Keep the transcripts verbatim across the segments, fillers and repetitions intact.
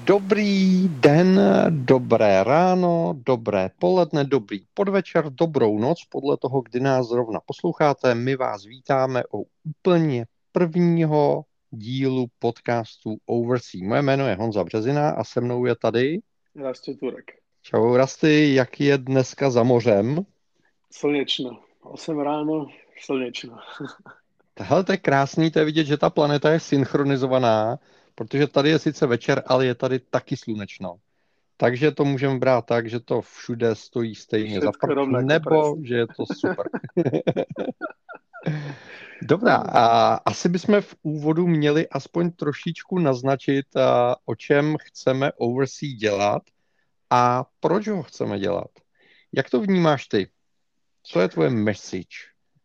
Dobrý den, dobré ráno, dobré poledne, dobrý podvečer, dobrou noc, podle toho, kdy nás zrovna posloucháte. My vás vítáme u úplně prvního dílu podcastu Oversea. Moje jméno je Honza Březina a se mnou je tady Rastě Turek. Čau Rasty, jak je dneska za mořem? Slněčno. osm ráno, slněčno. Hele, to je krásný, to je vidět, že ta planeta je synchronizovaná, protože tady je sice večer, ale je tady taky slunečno. Takže to můžeme brát tak, že to všude stojí stejně za Všetko prd, rovnako, nebo presne. že je to super. Dobrá, a asi bychom v úvodu měli aspoň trošičku naznačit, a, o čem chceme Oversea dělat a proč ho chceme dělat. Jak to vnímáš ty? Co je tvoje message?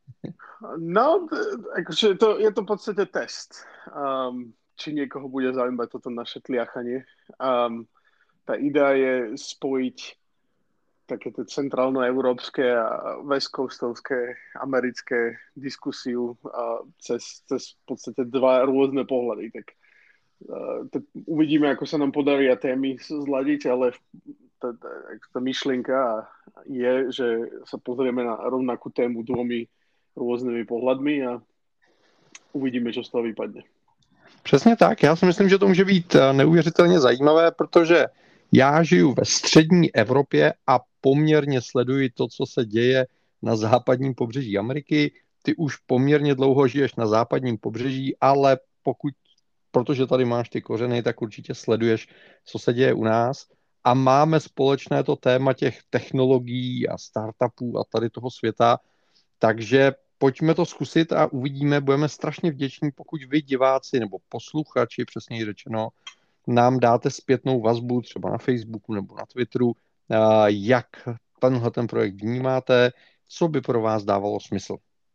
No, akože je to, je to v podstate test. Um, či niekoho bude zaujímať toto naše tliachanie. Um, tá idea je spojiť také tie centrálno-európske a west coastovské americké diskusiu uh, cez, cez v podstate dva rôzne pohľady. Tak, uh, tak uvidíme, ako sa nám podarí a témy zladiť, ale tá, tá, tá myšlienka je, že sa pozrieme na rovnakú tému dvomi rôznymi pohľadmi a uvidíme, čo z toho vypadne. Přesně tak, já si myslím, že to může být neuvěřitelně zajímavé, protože já žiju ve střední Evropě a poměrně sleduji to, co se děje na západním pobřeží Ameriky. Ty už poměrně dlouho žiješ na západním pobřeží, ale pokud, protože tady máš ty kořeny, tak určitě sleduješ, co se děje u nás. A máme společné to téma těch technologií a startupů a tady toho světa, takže pojďme to zkusit a uvidíme, budeme strašně vděční, pokud vy diváci nebo posluchači, přesněji řečeno, nám dáte zpětnou vazbu třeba na Facebooku nebo na Twitteru, jak tenhle ten projekt vnímáte, co by pro vás dávalo smysl.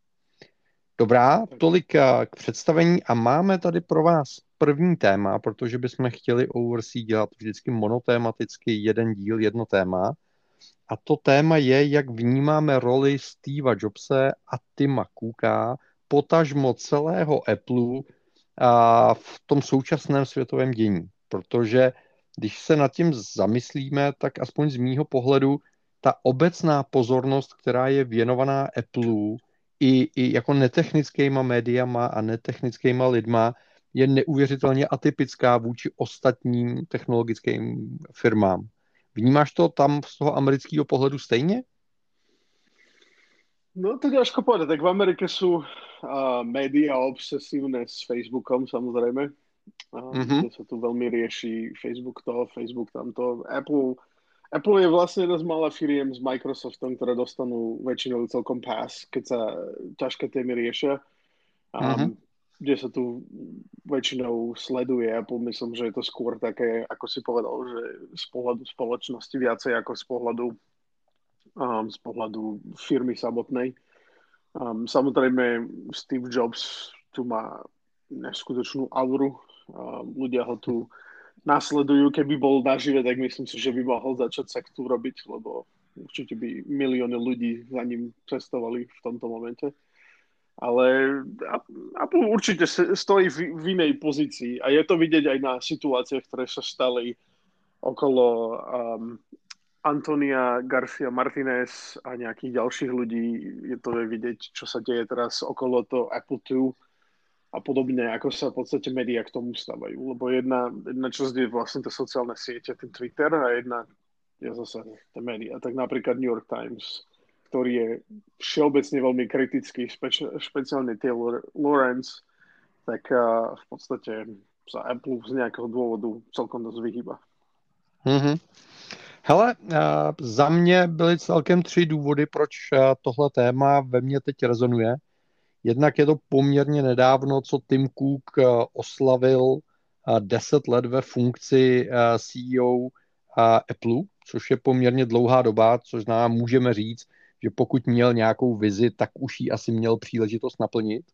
Dobrá, tolik k představení a máme tady pro vás první téma, protože bychom chtěli Oversea dělat vždycky monotématicky jeden díl, jedno téma. A to téma je, jak vnímáme roli Steva Jobse a Tima Cooka, potažmo celého Apple a v tom současném světovém dění. Protože když se nad tím zamyslíme, tak aspoň z mýho pohledu ta obecná pozornost, která je věnovaná Apple i, i jako netechnickýma médiama a netechnickýma lidma, je neuvěřitelně atypická vůči ostatním technologickým firmám. Vnímáš to tam z toho amerického pohledu stejně? No to ťažko povedať. Tak v Amerike sú uh, médiá obsesívne s Facebookom, samozrejme. Um, mm-hmm. Kde sa tu veľmi rieši Facebook to, Facebook tamto. Apple, Apple je vlastne jedna z malá firiem s Microsoftom, ktoré dostanú väčšinou celkom pass, keď sa ťažké témy riešia. Um, mm-hmm. Kde sa tu väčšinou sleduje Apple, myslím, že je to skôr také, ako si povedal, že z pohľadu spoločnosti viacej ako z pohľadu um, z pohľadu firmy samotnej. Um, samozrejme Steve Jobs tu má neskutočnú auru. Um, ľudia ho tu nasledujú. Keby bol nažive, tak myslím si, že by mohol začať sektu robiť, lebo určite by milióny ľudí za ním cestovali v tomto momente. Ale Apple určite stojí v, v inej pozícii a je to vidieť aj na situáciách, ktoré sa stali okolo um, Antonia Garcia Martinez a nejakých ďalších ľudí. Je to vidieť, čo sa deje teraz okolo toho Apple dva a podobne, ako sa v podstate médiá k tomu stavajú. Lebo jedna, jedna časť je vlastne to sociálne siete, ten Twitter, a jedna je zase tie médiá. Tak napríklad New York Times, ktorý je všeobecne veľmi kritický, špeč- špeciálne Taylor Lawrence, tak uh, v podstate sa Apple z nejakého dôvodu celkom dosť vyhýba. Mm-hmm. Hele, uh, za mě byly celkem tři důvody, proč uh, tohle téma ve mně teď rezonuje. Jednak je to poměrně nedávno, co Tim Cook uh, oslavil uh, deset let ve funkci uh, C E O uh, Apple, což je poměrně dlouhá doba, což nám můžeme říct, že pokud měl nějakou vizi, tak už ji asi měl příležitost naplnit.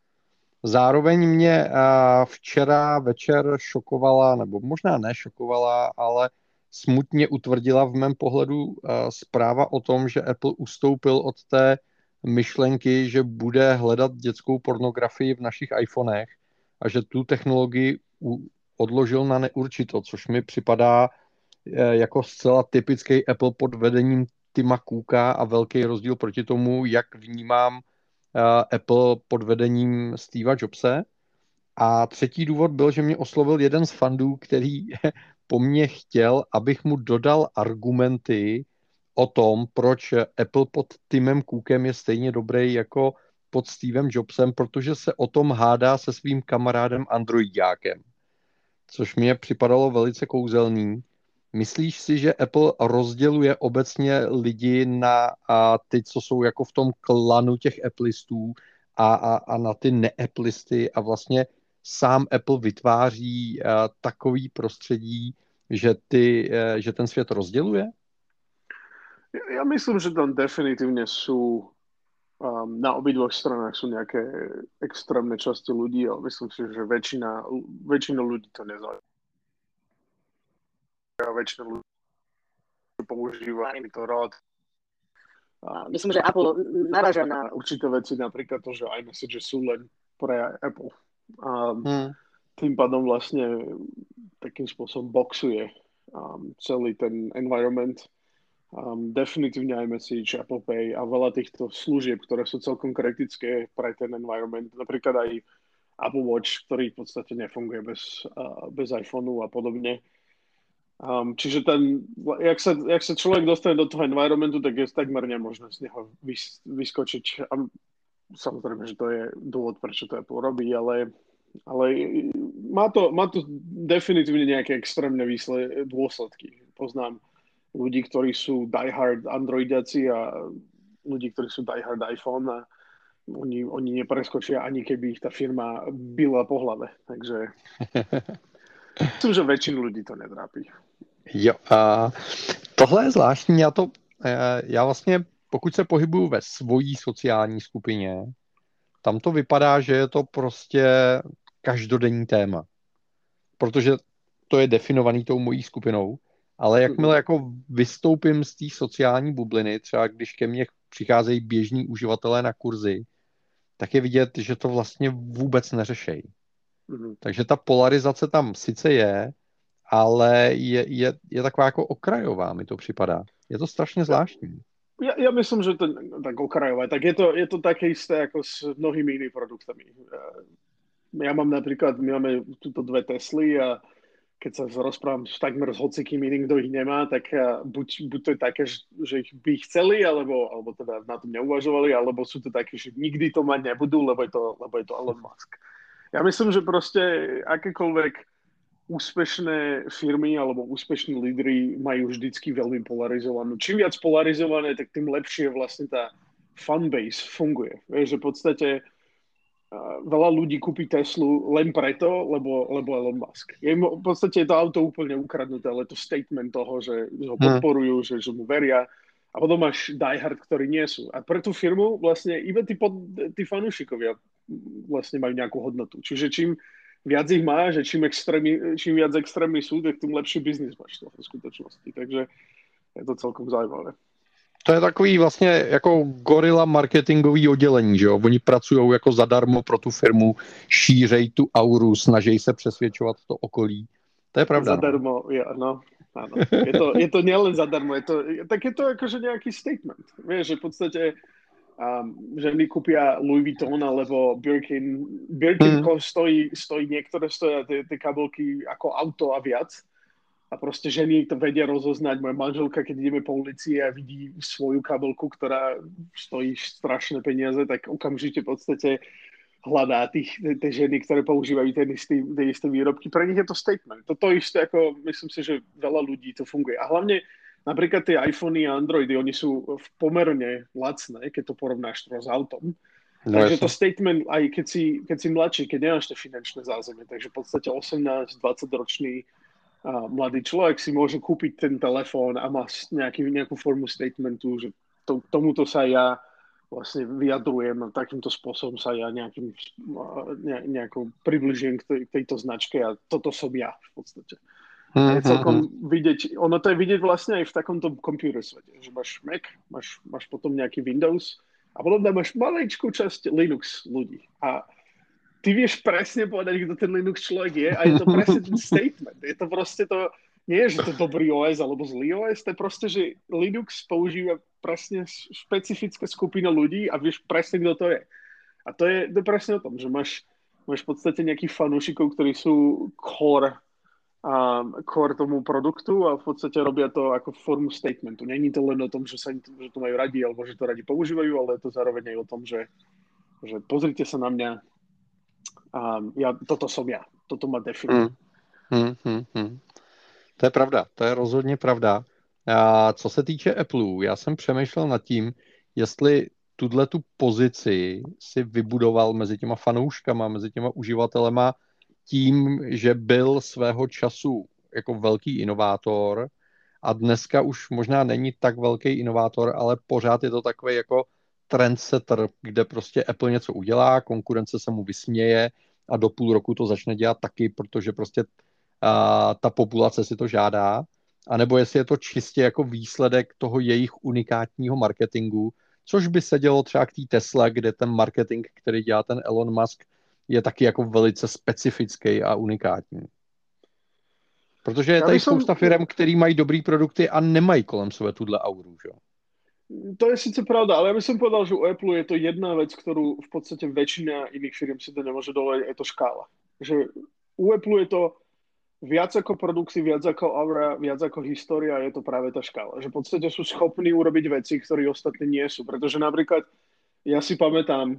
Zároveň mě včera večer šokovala, nebo možná nešokovala, ale smutně utvrdila v mém pohledu zpráva o tom, že Apple ustoupil od té myšlenky, že bude hledat dětskou pornografii v našich iPhonech a že tu technologii odložil na neurčito, což mi připadá jako zcela typický Apple pod vedením Tima Cooka a velký rozdíl proti tomu, jak vnímám Apple pod vedením Steva Jobse. A třetí důvod byl, že mě oslovil jeden z fandů, který po mně chtěl, abych mu dodal argumenty o tom, proč Apple pod Timem Cookem je stejně dobrý jako pod Stevem Jobsem, protože se o tom hádá se svým kamarádem Androidákem. Což mě připadalo velice kouzelný. Myslíš si, že Apple rozděluje obecně lidi na a ty, co jsou jako v tom klanu těch Applistů a, a, a na ty ne-Applisty a vlastně sám Apple vytváří uh, takový prostředí, že, ty, uh, že ten svět rozděluje? Ja myslím, že tam definitívne sú um, na obidvoch stranách sú nejaké extrémne časti ľudí, ale myslím si, že väčšina, väčšina ľudí to nezaujíma. Väčšina ľudí používa to rád. A myslím, že Apple naraža na určité veci, napríklad to, že iMessage sú len pre Apple. A hmm. tým pádom vlastne takým spôsobom boxuje um, celý ten environment. Um, definitívne iMessage, Apple Pay a veľa týchto služieb, ktoré sú celkom kritické pre ten environment. Napríklad aj Apple Watch, ktorý v podstate nefunguje bez, uh, bez iPhoneu a podobne. Um, čiže ten, jak sa, jak sa človek dostane do toho environmentu, tak je takmer nemožné z neho vys, vyskočiť. A samozrejme, že to je dôvod, prečo to Apple robí, ale, ale má, to, má to definitívne nejaké extrémne výsle, dôsledky. Poznám ľudí, ktorí sú diehard Androidiaci a ľudí, ktorí sú diehard iPhone a oni, oni nepreskočia, ani keby ich tá firma byla po hlave. Takže myslím, že väčšinu ľudí to netrápí. Jo, a tohle je zvláštní. Já, to, já vlastně, pokud se pohybuju ve svojí sociální skupině, tam to vypadá, že je to prostě každodenní téma. Protože to je definovaný tou mojí skupinou. Ale jakmile jako vystoupím z té sociální bubliny, třeba když ke mně přicházejí běžní uživatelé na kurzy, tak je vidět, že to vlastně vůbec neřešejí. Mm-hmm. Takže ta polarizace tam sice je, ale je, je, je taková jako okrajová, mi to připadá. Je to strašně zvláštní. Ja, ja myslím, že to tak okrajové. Tak je to, je to také isté ako s mnohými inými produktami. Ja mám napríklad, my máme tuto dve Tesly a keď sa rozprávam takmer s hocikým iným, kto ich nemá, tak buď, buď to je také, že ich by chceli, alebo, alebo teda na tom neuvažovali, alebo sú to také, že nikdy to mať nebudú, lebo je to, lebo je to Elon Musk. Ja myslím, že proste akékoľvek úspešné firmy alebo úspešní lídri majú vždycky veľmi polarizovanú. Čím viac polarizované, tak tým lepšie vlastne tá fanbase funguje. Vieš, že v podstate veľa ľudí kúpi Teslu len preto, lebo, lebo Elon Musk. Je v podstate je to auto úplne ukradnuté, ale to statement toho, že ho podporujú, že, že mu veria. A potom máš diehard, ktorí nie sú. A pre tú firmu vlastne iba tí, pod, tí fanúšikovia vlastne majú nejakú hodnotu. Čiže čím viac ich má, že čím, extrémni, čím viac extrémni sú, tak tým lepší biznis máš to v skutočnosti. Takže je to celkom zaujímavé. To je takový vlastně jako gorila marketingový oddělení, že jo? Oni pracují jako zadarmo pro tu firmu, šířej tu auru, snaží se přesvědčovat to okolí. To je pravda. Zadarmo, ja, no. Áno. Je to, je to nielen zadarmo, je to, tak je to akože nejaký statement. Vieš, že v podstate um, ženy kúpia Louis Vuitton alebo Birkin. Birkin mm. stojí, stojí, niektoré stojí tie kabelky ako auto a viac. A proste ženy to vedia rozoznať. Moja manželka, keď ideme po ulici a vidí svoju kabelku, ktorá stojí strašné peniaze, tak okamžite v podstate hľadá tých, tie ženy, ktoré používajú tie isté, tie isté výrobky. Pre nich je to statement. Toto isté, ako myslím si, že veľa ľudí to funguje. A hlavne napríklad tie iPhony a Androidy, oni sú pomerne lacné, keď to porovnáš s autom. No, takže to statement, aj keď si, keď si mladší, keď nemáš to finančné zázemie, takže v podstate osemnásť dvadsať ročný a mladý človek si môže kúpiť ten telefón a má nejaký, nejakú formu statementu, že to, tomuto sa ja vlastne vyjadrujem, takýmto spôsobom sa ja nejakým, ne, nejakou približujem k, tej, k tejto značke a toto som ja v podstate. Mm-hmm. Je celkom vidieť, ono to je vidieť vlastne aj v takomto computer svete, že máš Mac, máš, máš potom nejaký Windows a potom tam máš maličkú časť Linux ľudí. A ty vieš presne povedať, kto ten Linux človek je a je to presne ten statement. Je to proste to, nie je, že to je dobrý ó es alebo zlý ó es, to je proste, že Linux používa presne špecifická skupina ľudí a vieš presne, kto to je. A to je, to je presne o tom, že máš, máš v podstate nejakých fanúšikov, ktorí sú core, um, core tomu produktu a v podstate robia to ako formu statementu. Není to len o tom, že, sa, že to majú radi alebo že to radi používajú, ale je to zároveň aj o tom, že, že pozrite sa na mňa, um, ja, toto som ja, toto ma definuje. Hmm, hmm, hmm. To je pravda, to je rozhodně pravda. A co se týče Apple, já jsem přemýšlel nad tím, jestli tuhle tu pozici si vybudoval mezi těma fanouškama, mezi těma uživatelema tím, že byl svého času jako velký inovátor a dneska už možná není tak velký inovátor, ale pořád je to takový jako trendsetter, kde prostě Apple něco udělá, konkurence se mu vysměje a do půl roku to začne dělat taky, protože prostě a ta populace si to žádá, anebo jestli je to čistě jako výsledek toho jejich unikátního marketingu, což by se dělo třeba k té Tesla, kde ten marketing, který dělá ten Elon Musk, je taky jako velice specifický a unikátní. Protože je tady som... spousta firm, který mají dobrý produkty a nemají kolem sebe tuhle auru, že? To je síce pravda, ale ja by som povedal, že u Apple je to jedna vec, ktorú v podstate väčšina iných firm si to nemôže dovoliť, je to škála. Že u Apple je to viac ako produkty, viac ako aura, viac ako história, je to práve tá škála. Že v podstate sú schopní urobiť veci, ktoré ostatní nie sú. Pretože napríklad, ja si pamätám,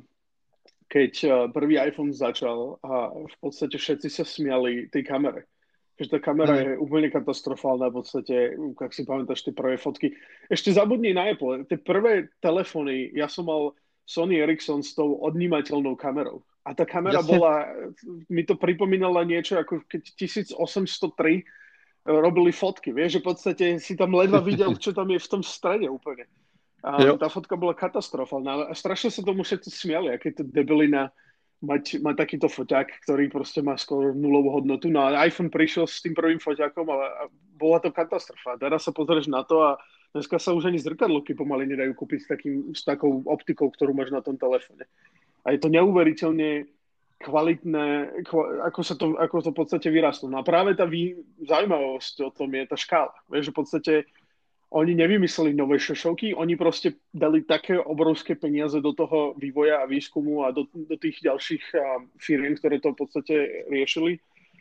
keď prvý iPhone začal a v podstate všetci sa smiali tej kamere. Že tá kamera je úplne katastrofálna v podstate, ak si pamätáš tie prvé fotky. Ešte zabudni na Apple. Tie prvé telefóny, ja som mal Sony Ericsson s tou odnímateľnou kamerou. A tá kamera Jasne. bola, mi to pripomínala niečo, ako keď tisíc osemsto tri robili fotky. Vieš, že v podstate si tam ledva videl, čo tam je v tom strede úplne. A tá fotka bola katastrofálna. A strašne sa tomu všetci smiali, aké to debilina mať, mať takýto foťák, ktorý proste má skoro nulovú hodnotu. No a iPhone prišiel s tým prvým foťákom a, a bola to katastrofa. Teraz sa pozrieš na to a dneska sa už ani zrkadlovky pomaly nedajú kúpiť s, takým, s takou optikou, ktorú máš na tom telefóne. A je to neuveriteľne kvalitné, ako, sa to, ako to v podstate vyrastlo. No a práve tá vý, zaujímavosť o tom je tá škála. Vieš, že v podstate oni nevymysleli nové šošovky, oni proste dali také obrovské peniaze do toho vývoja a výskumu a do, do tých ďalších um, firiem, ktoré to v podstate riešili,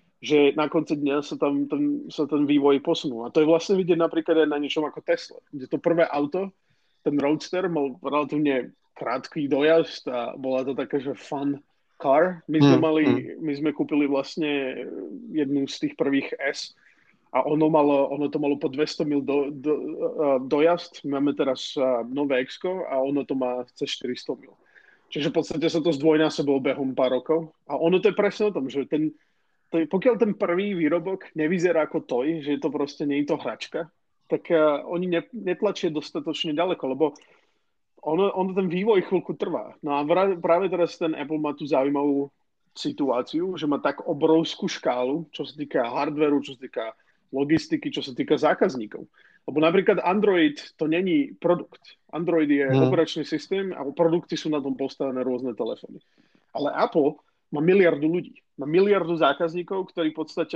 že na konci dňa sa tam ten, sa ten vývoj posunul. A to je vlastne vidieť napríklad aj na niečom ako Tesla, kde to prvé auto, ten Roadster, mal relatívne krátky dojazd a bola to taká, že fun car. My sme, mm, mali, mm. my sme kúpili vlastne jednu z tých prvých S a ono, malo, ono to malo po dvesto mil do, do, uh, dojazd. Máme teraz uh, nové X-ko a ono to má cez štyristo mil. Čiže v podstate sa to zdvojnásobilo behom pár rokov. A ono to je presne o tom, že ten, to, pokiaľ ten prvý výrobok nevyzerá ako toj, že to proste nie je to hračka, tak uh, oni ne, netlačia dostatočne ďaleko, lebo ono, ono ten vývoj chvíľku trvá. No a práve teraz ten Apple má tú zaujímavú situáciu, že má tak obrovskú škálu, čo sa týka hardwareu, čo sa týka logistiky, čo sa týka zákazníkov. Lebo napríklad Android to není produkt. Android je hmm. operačný systém a produkty sú na tom postavené rôzne telefóny. Ale Apple má miliardu ľudí. Má miliardu zákazníkov, ktorí v podstate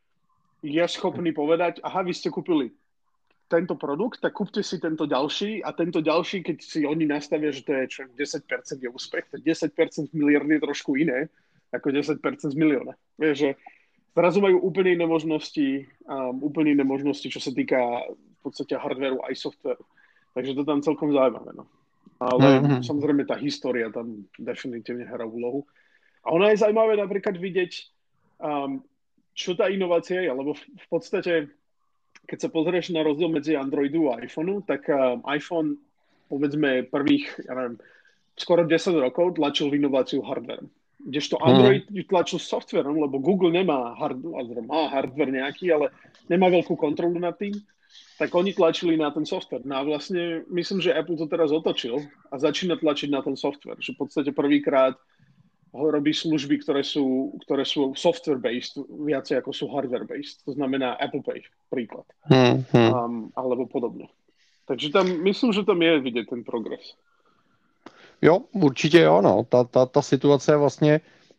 je schopný povedať, aha, vy ste kúpili tento produkt, tak kúpte si tento ďalší a tento ďalší, keď si oni nastavia, že to je čo, desať percent je úspech, tak desať percent z miliardy je trošku iné ako desať percent z milióna. Vieš, že zrazu majú úplne iné možnosti, um, úplne iné možnosti, čo sa týka v podstate hardwareu aj softwareu. Takže to tam celkom zaujímavé. No. Ale mm-hmm. samozrejme tá história tam definitívne hrá úlohu. A ona je zaujímavé napríklad vidieť, um, čo tá inovácia je, lebo v, v podstate, keď sa pozrieš na rozdiel medzi Androidu a iPhoneu, tak um, iPhone, povedzme, prvých, ja neviem, skoro desať rokov tlačil inováciu hardwarem. Kdežto Android hmm. tlačil softverom, lebo Google nemá hardware, má hardware nejaký, ale nemá veľkú kontrolu nad tým, tak oni tlačili na ten software. No a vlastne myslím, že Apple to teraz otočil a začína tlačiť na ten software. Že v podstate prvýkrát ho robí služby, ktoré sú, ktoré sú software-based, viacej ako sú hardware-based. To znamená Apple Pay, príklad. Hmm. Um, alebo podobne. Takže tam, myslím, že tam je vidieť ten progres. Jo, určitě jo, no. Ta, ta, ta situace je vlastně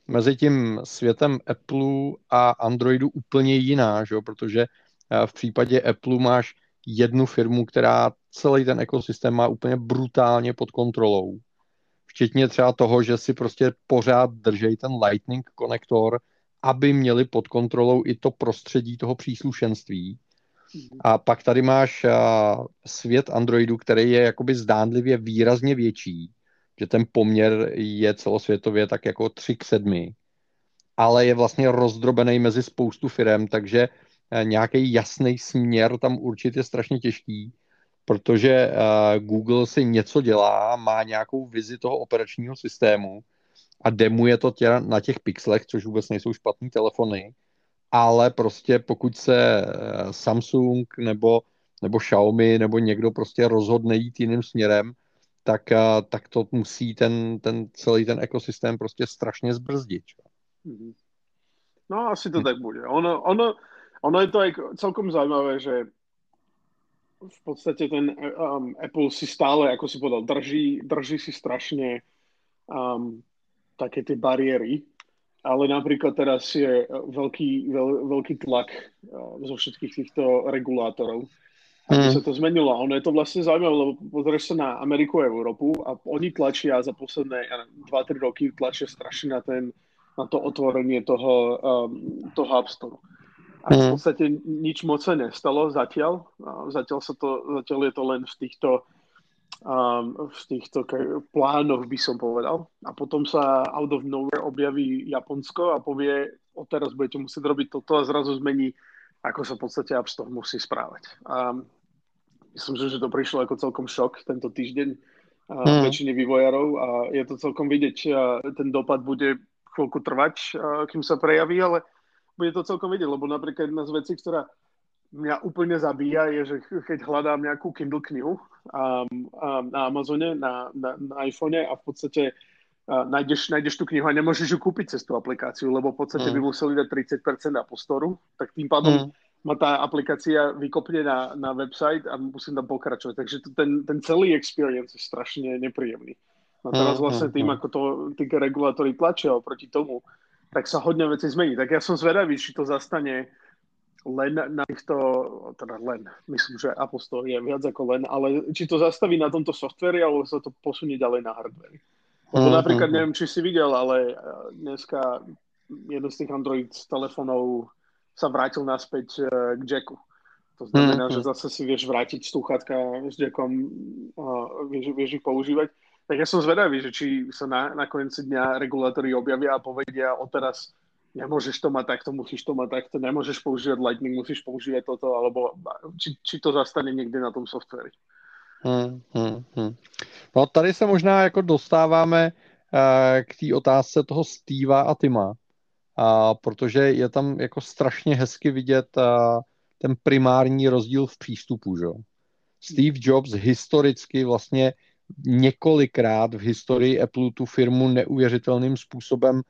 mezi tím světem Apple a Androidu úplně jiná, že? Protože v případě Apple máš jednu firmu, která celý ten ekosystém má úplně brutálně pod kontrolou. Včetně třeba toho, že si prostě pořád držej ten Lightning konektor, aby měli pod kontrolou i to prostředí toho příslušenství. A pak tady máš svět Androidu, který je jakoby zdánlivě výrazně větší, že ten poměr je celosvětově tak jako tři k sedmi, ale je vlastně rozdrobený mezi spoustu firem, takže nějaký jasný směr tam určitě je strašně těžký, protože Google si něco dělá, má nějakou vizi toho operačního systému a demuje to tě na těch pixelech, což vůbec nejsou špatný telefony, ale prostě pokud se Samsung nebo, nebo Xiaomi nebo někdo prostě rozhodne jít jiným směrem, tak, tak to musí ten, ten celý ten ekosystém prostě strašně zbrzdit. No asi to tak bude. Ono, ono, ono je to aj celkom zaujímavé, že v podstate ten um, Apple si stále, ako si povedal, drží, drží si strašne um, také tie bariéry, ale napríklad teraz je veľký, veľ, veľký tlak uh, zo všetkých týchto regulátorov, aby mm. sa to zmenilo. A ono je to vlastne zaujímavé, lebo pozrieš sa na Ameriku a Európu a oni tlačia za posledné dva tri roky tlačia strašne na, ten, na to otvorenie toho, um, toho App Store. A v podstate nič moc sa nestalo zatiaľ. Zatiaľ, sa to, zatiaľ je to len v týchto, um, v týchto plánoch, by som povedal. A potom sa out of nowhere objaví Japonsko a povie, odteraz budete musieť robiť toto a zrazu zmení, ako sa v podstate App Store musí správať. A myslím, že to prišlo ako celkom šok tento týždeň mm. väčšine vývojárov a je to celkom vidieť. Ten dopad bude chvíľku trvať, kým sa prejaví, ale bude to celkom vidieť, lebo napríklad jedna z vecí, ktorá mňa úplne zabíja, je, že keď hľadám nejakú Kindle knihu um, um, na Amazone, na, na, na iPhone a v podstate uh, nájdeš, nájdeš tú knihu a nemôžeš ju kúpiť cez tú aplikáciu, lebo v podstate mm. by museli dať tridsať percent App Store, tak tým pádom mm. ma tá aplikácia vykopne na, na website a musím tam pokračovať. Takže to, ten, ten celý experience je strašne nepríjemný. A teraz vlastne tým, ako to tí regulátori tlačia oproti tomu, tak sa hodne veci zmení. Tak ja som zvedavý, či to zastane len na týchto, teda len, myslím, že Apple Store je viac ako len, ale či to zastaví na tomto softveri, alebo sa to posunie ďalej na hardveri. Lebo napríklad, neviem, či si videl, ale dneska jeden z tých Android telefónov sa vrátil naspäť k jacku. To znamená, že zase si vieš vrátiť slúchatka s jackom a vieš, vieš ich používať. Tak ja som zvedavý, že či sa na, na konci dňa regulátori objavia a povedia odteraz nemôžeš to mať takto, musíš to mať takto, nemôžeš používať Lightning, musíš používať toto, alebo či, či to zastane niekde na tom softveri. Hmm, hmm, hmm. No tady se možná jako dostáváme uh, k té otázce toho Steva a Tima, uh, protože je tam jako strašně hezky vidět uh, ten primární rozdíl v přístupu. Že? Steve Jobs historicky vlastně několikrát v historii Apple tu firmu neuvěřitelným způsobem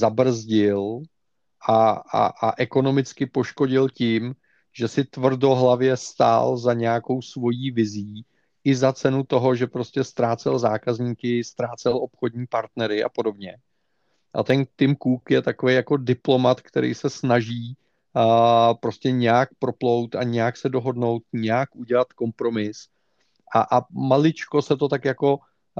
zabrzdil a, a, a ekonomicky poškodil tím, že si tvrdohlavě stál za nějakou svojí vizí i za cenu toho, že prostě ztrácel zákazníky, ztrácel obchodní partnery a podobně. A ten Tim Cook je takový jako diplomat, který se snaží a prostě nějak proplout a nějak se dohodnout, nějak udělat kompromis. A, a maličko se to tak jako,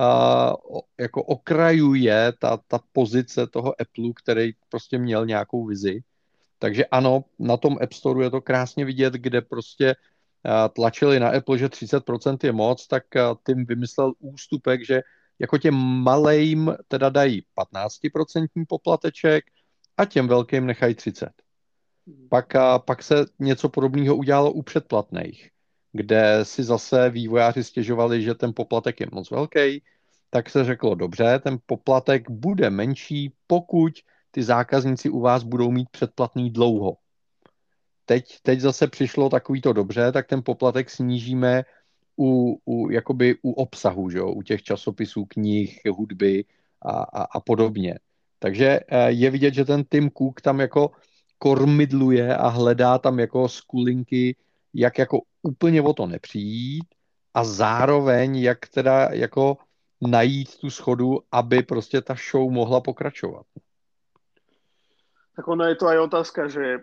uh, jako okrajuje ta, ta pozice toho Apple, který prostě měl nějakou vizi. Takže ano, na tom App Store je to krásně vidět, kde prostě uh, tlačili na Apple, že třicet procent je moc, tak uh, Tim vymyslel ústupek, že jako těm malejm teda dají patnáct procent poplateček a těm velkým nechají třicet. Pak, uh, pak se něco podobného udělalo u předplatných, kde si zase vývojáři stěžovali, že ten poplatek je moc velký, tak se řeklo, dobře, ten poplatek bude menší, pokud ty zákazníci u vás budou mít předplatný dlouho. Teď, teď zase přišlo takový to dobře, tak ten poplatek snížíme u, u, jakoby u obsahu, že? U těch časopisů, knih, hudby a, a, a podobně. Takže je vidět, že ten Tim Cook tam jako kormidluje a hledá tam jako skulinky, jak jako úplně o to nepřijít a zároveň jak teda jako najít tu schodu, aby prostě ta show mohla pokračovat. Tak ono je to aj otázka, že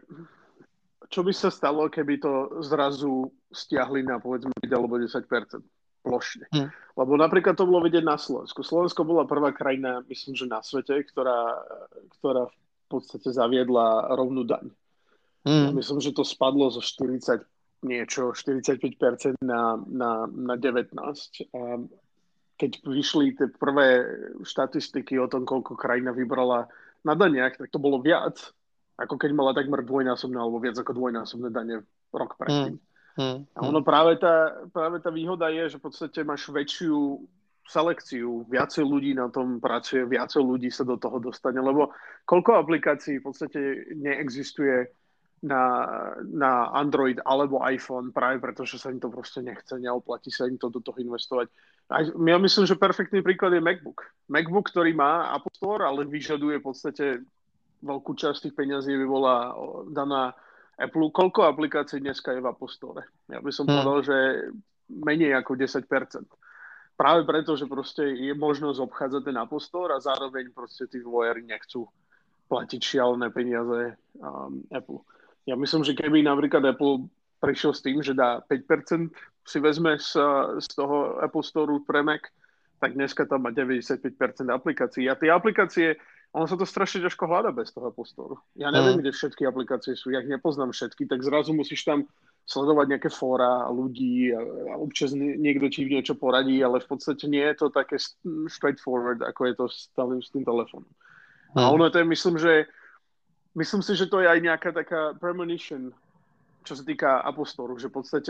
čo by sa stalo, keby to zrazu stiahli na povedzme päť alebo desať percent plošne. Hmm. Lebo napríklad to bolo vidieť na Slovensku. Slovensko bola prvá krajina, myslím, že na svete, ktorá, ktorá v podstate zaviedla rovnú daň. Hmm. Ja myslím, že to spadlo zo štyridsať niečo, štyridsaťpäť percent na, na, na devätnásť. A keď vyšli tie prvé štatistiky o tom, koľko krajina vybrala na daniach, tak to bolo viac, ako keď mala takmer dvojnásobné alebo viac ako dvojnásobné dane rok predtým. Hmm. Hmm. A ono práve tá, práve tá výhoda je, že v podstate máš väčšiu selekciu, viacej ľudí na tom pracuje, viacej ľudí sa do toho dostane, lebo koľko aplikácií v podstate neexistuje na, na Android alebo iPhone práve preto, že sa im to proste nechce, neoplatí sa im to do toho investovať. A ja myslím, že perfektný príklad je MacBook. MacBook, ktorý má Apple Store, ale vyžaduje v podstate veľkú časť tých peňazí by bola daná Apple. Koľko aplikácií dneska je v Apple Store? Ja by som hmm. povedal, že menej ako desať percent. Práve preto, že proste je možnosť obchádzať ten Apple Store a zároveň proste tí vývojári nechcú platiť šialené peniaze um, Apple. Ja myslím, že keby napríklad Apple prišiel s tým, že dá päť percent si vezme z, z toho Apple Store pre Mac, tak dneska tam má deväťdesiatpäť percent aplikácií. A tie aplikácie, ono sa to strašne ťažko hľada bez toho Apple Store. Ja neviem, mm. kde všetky aplikácie sú, ja ich nepoznám všetky, tak zrazu musíš tam sledovať nejaké fóra a ľudí a, a občas niekto ti niečo poradí, ale v podstate nie je to také straightforward, ako je to s, tým, s tým telefónom. Mm. A ono to je, myslím, že myslím si, že to je aj nejaká taká premonition, čo sa týka Apple Store, že v podstate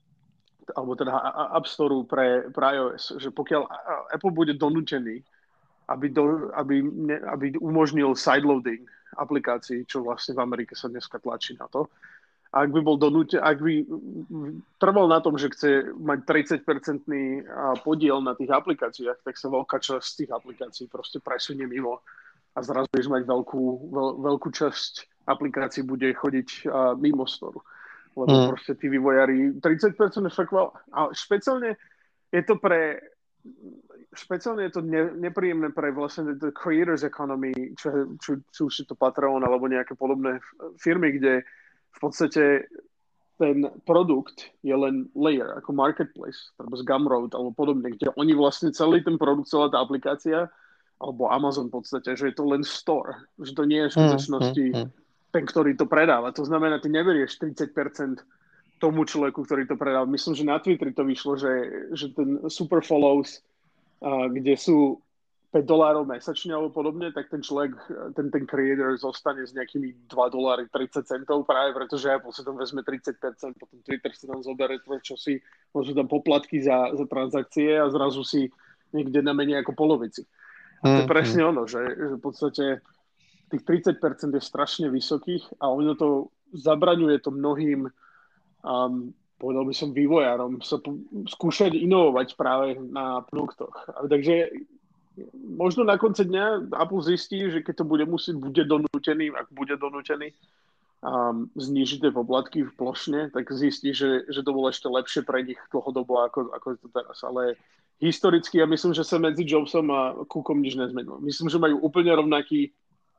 alebo teda App Store pre, pre iOS, že pokiaľ Apple bude donútený, aby, do, aby, ne, aby umožnil sideloading aplikácií, čo vlastne v Amerike sa dneska tlačí na to, a ak by bol donútený, ak by trval na tom, že chce mať tridsať percentný podiel na tých aplikáciách, tak sa veľká časť z tých aplikácií proste presunie mimo a zrazu budeš mať veľkú, veľ, veľkú časť aplikácií bude chodiť mimo Store. Lebo mm. proste tí vývojári, tridsať percent je fakt veľa. A špeciálne je to pre, špeciálne je to ne, nepríjemné pre vlastne the creators economy, čo, čo, čo už je to Patreon alebo nejaké podobné firmy, kde v podstate ten produkt je len layer, ako marketplace, alebo z Gumroad alebo podobne, kde oni vlastne celý ten produkt, celá tá aplikácia, alebo Amazon v podstate, že je to len store, že to nie je v skutočnosti mm, mm, mm. ten, ktorý to predáva. To znamená, ty neberieš tridsať percent tomu človeku, ktorý to predáva. Myslím, že na Twitteri to vyšlo, že, že ten super follows, uh, kde sú päť dolárov mesačne alebo podobne, tak ten človek, ten, ten creator zostane s nejakými dva doláry tridsať centov práve, pretože Apple si tam vezme tridsať percent, potom Twitter si tam zoberie čo si, môžu tam poplatky za, za transakcie a zrazu si niekde na menej ako polovici. A to je presne ono, že, že v podstate tých tridsať percent je strašne vysokých a ono to zabraňuje to mnohým, um, povedal by som, vývojárom sa po, skúšať inovovať práve na produktoch. A takže možno na konci dňa Apple zistí, že keď to bude musieť, bude donútený, ak bude donútený um, znížiť tie poplatky v plošne, tak zistí, že, že to bolo ešte lepšie pre nich dlhodobo, ako, ako je to teraz. Ale historicky ja myslím, že sa medzi Jobsom a Cookom nič nezmenilo. Myslím, že majú úplne rovnaký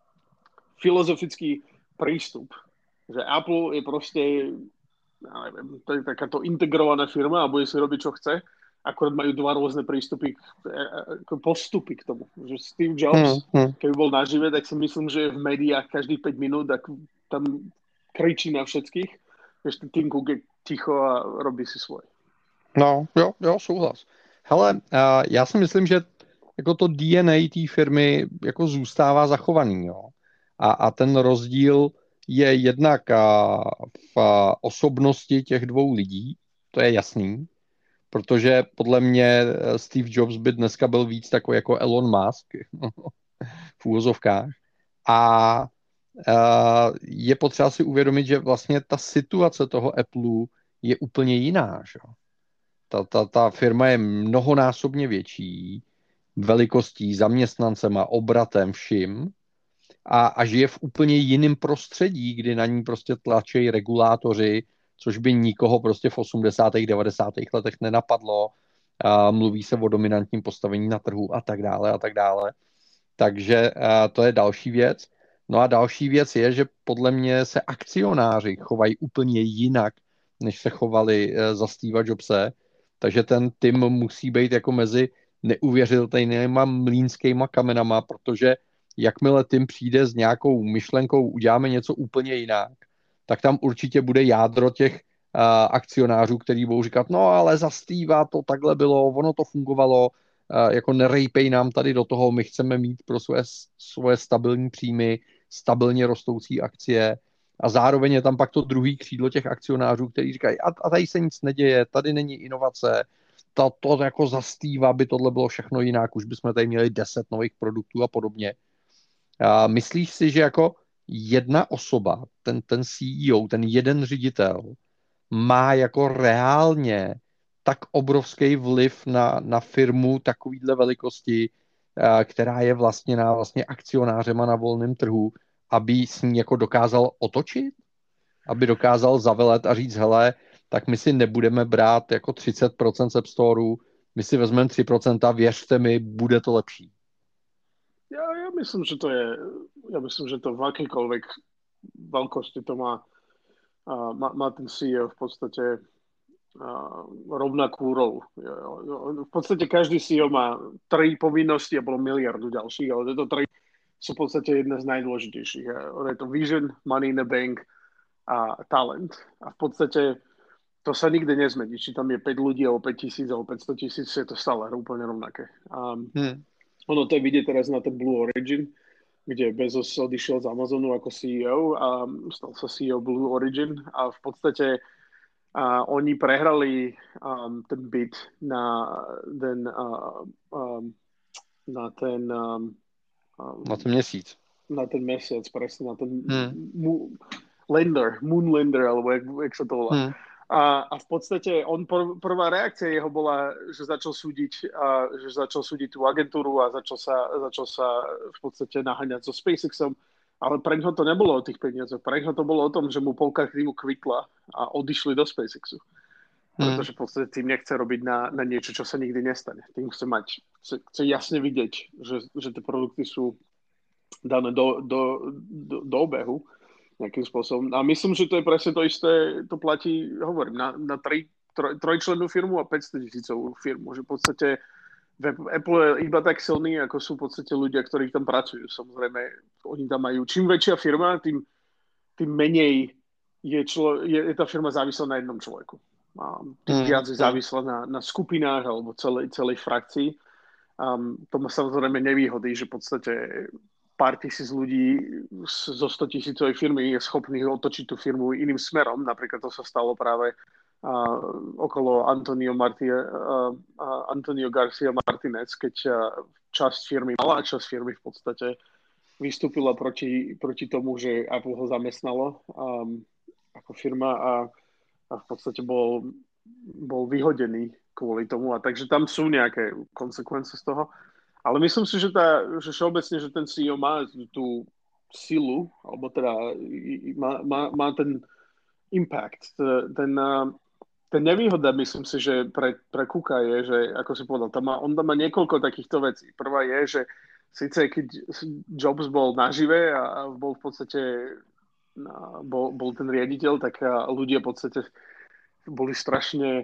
filozofický prístup. Že Apple je proste, ja neviem, to je takáto integrovaná firma a bude si robiť, čo chce. Akorát majú dva rôzne prístupy, postupy k tomu. Že Steve Jobs, hmm, hmm. keby bol nažive, tak si myslím, že v médiách každých päť minút tak tam kričí na všetkých. Ešte Tim Cook je ticho a robí si svoj. No, jo, jo, souhlas. Hele, uh, já si myslím, že jako to D N A té firmy jako zůstává zachovaný, jo. A, a ten rozdíl je jednak uh, v uh, osobnosti těch dvou lidí, to je jasný, protože podle mě Steve Jobs by dneska byl víc takový jako Elon Musk v úvozovkách. A uh, je potřeba si uvědomit, že vlastně ta situace toho Apple je úplně jiná, že? Ta, ta, ta firma je mnohonásobně větší velikostí, zaměstnancema, obratem, vším a, a žije v úplně jiném prostředí, kdy na ní prostě tlačí regulátoři, což by nikoho prostě v osmdesátých devadesátých letech nenapadlo. A mluví se o dominantním postavení na trhu a tak dále a tak dále. Takže a to je další věc. No a další věc je, že podle mě se akcionáři chovají úplně jinak, než se chovali za Steva Jobse, takže ten tým musí být jako mezi neuvěřitelnýma mlýnskýma kamenama, protože jakmile tým přijde s nějakou myšlenkou, uděláme něco úplně jinak, tak tam určitě bude jádro těch uh, akcionářů, který budou říkat, no ale za Steva to takhle bylo, ono to fungovalo, uh, jako nerejpej nám tady do toho, my chceme mít pro svoje, svoje stabilní příjmy, stabilně rostoucí akcie a zároveň je tam pak to druhý křídlo těch akcionářů, kteří říkají, a, a tady se nic neděje, tady není inovace, to, to jako za Steva by tohle bylo všechno jinak, už bychom tady měli deset nových produktů a podobně. A myslíš si, že jako jedna osoba, ten, ten C E O, ten jeden ředitel, má jako reálně tak obrovský vliv na, na firmu takovýhle velikosti, která je vlastněná vlastně akcionářema na volném trhu, aby s ní jako dokázal otočit? Aby dokázal zavelet a říct, hele, tak my si nebudeme brát jako třicet procent z App Storeu, my si vezmeme tři procenta, věřte mi, bude to lepší. Ja, ja myslím, že to je, ja myslím, že to v akýkoľvek veľkosti to má, uh, má, má ten C E O v podstate uh, rovnakú rolu. V podstate každý C E O má tri povinnosti a bolo miliardu ďalších, ale tieto tri sú v podstate jedna z najdôležitejších. Je to vision, money in the bank a talent. A v podstate to sa nikdy nezmení. Či tam je päť ľudí, alebo päť tisíc, alebo päťsto tisíc, je to stále úplne rovnaké. Um, hmm. Ono to je vidieť teraz na ten Blue Origin, kde Bezos odišiel z Amazonu ako C E O a stal sa C E O Blue Origin a v podstate uh, oni prehrali um, ten bid na ten uh, um, na ten um, na ten měsíc. Na ten mesiac, presne, na ten hmm. mu, lender, Moon Lender, alebo jak, jak sa to volá. Hmm. A, a v podstate on pr- prvá reakcia jeho bola, že začal súdiť, a, že začal súdiť tú agentúru a začal sa, začal sa v podstate naháňať so SpaceXom, ale pre ňoho to nebolo o tých peniazoch, pre ňoho to bolo o tom, že mu polka týmu kvitla a odišli do SpaceXu. Pretože v podstate tým nechce robiť na, na niečo, čo sa nikdy nestane. Tým chce mať, chce, chce jasne vidieť, že, že tie produkty sú dané do, do, do, do obehu nejakým spôsobom. A myslím, že to je presne to isté, to platí, hovorím, na, na tri, troj, trojčlennú firmu a päťsto tisícovú firmu. Že v podstate Apple je iba tak silný, ako sú v podstate ľudia, ktorí tam pracujú. Samozrejme, oni tam majú, čím väčšia firma, tým, tým menej je, člo, je, je tá firma závislá na jednom človeku. A tým viac je závislá na, na skupinách alebo celej, celej frakcii. Um, to má samozrejme nevýhody, že v podstate pár tisíc ľudí zo sto tisícovej firmy je schopných otočiť tú firmu iným smerom. Napríklad to sa stalo práve uh, okolo Antonio, Marti, uh, uh, Antonio Garcia Martinez, keď uh, časť firmy, malá časť firmy v podstate vystúpila proti, proti tomu, že Apple ho zamestnalo um, ako firma a, a v podstate bol, bol vyhodený kvôli tomu. A takže tam sú nejaké konsekvence z toho. Ale myslím si, že, tá, že všeobecne, že ten C E O má tú silu, alebo teda má, má, má ten impact. Ten, ten nevýhoda, myslím si, že pre, pre Cooka je, že, ako si povedal, tam má, on tam má niekoľko takýchto vecí. Prvá je, že síce keď Jobs bol nažive a bol v podstate bol, bol ten riaditeľ, tak ľudia v podstate boli strašne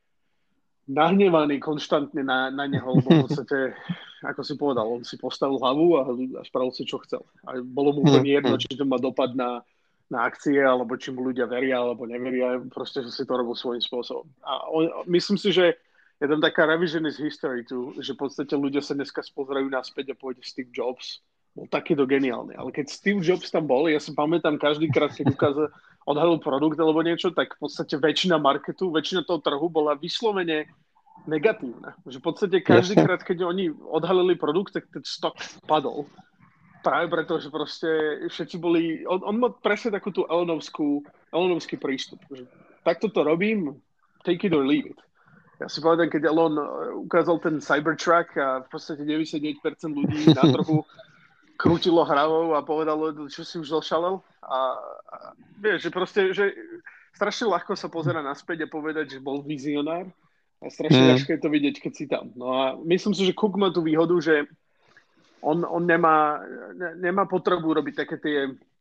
nahnevaný konštantne na, na neho, lebo v podstate, ako si povedal, on si postavil hlavu a, a spravil si, čo chcel. A bolo mu úplne jedno, či to má dopad na, na akcie, alebo či mu ľudia veria, alebo neveria, proste, že si to robil svojím spôsobom. A on, myslím si, že je tam taká revisionist history tu, že v podstate ľudia sa dneska spozerajú naspäť a pôjde Steve Jobs. Bol takýto geniálny. Ale keď Steve Jobs tam bol, ja si pamätám, každýkrát, keď ukázal, odhalil produkt alebo niečo, tak v podstate väčšina marketu, väčšina toho trhu bola vyslovene negatívna. Že v podstate každýkrát, keď oni odhalili produkt, tak ten stok padol. Práve preto, že proste všetci boli... On, on má presne takú tú Elonovskú, Elonovský prístup. Že takto to robím, take it or leave it. Ja si povedám, keď Elon ukázal ten Cybertruck a v podstate deväťdesiatdeväť percent ľudí na trhu krútilo hravou a povedalo, čo si už zošalel. A, a vieš, že proste, že strašne ľahko sa pozera naspäť a povedať, že bol vizionár. A strašne ťažké mm. je to vidieť, keď si tam. No a myslím si, že Cook má tú výhodu, že on, on nemá, ne, nemá potrebu robiť také tie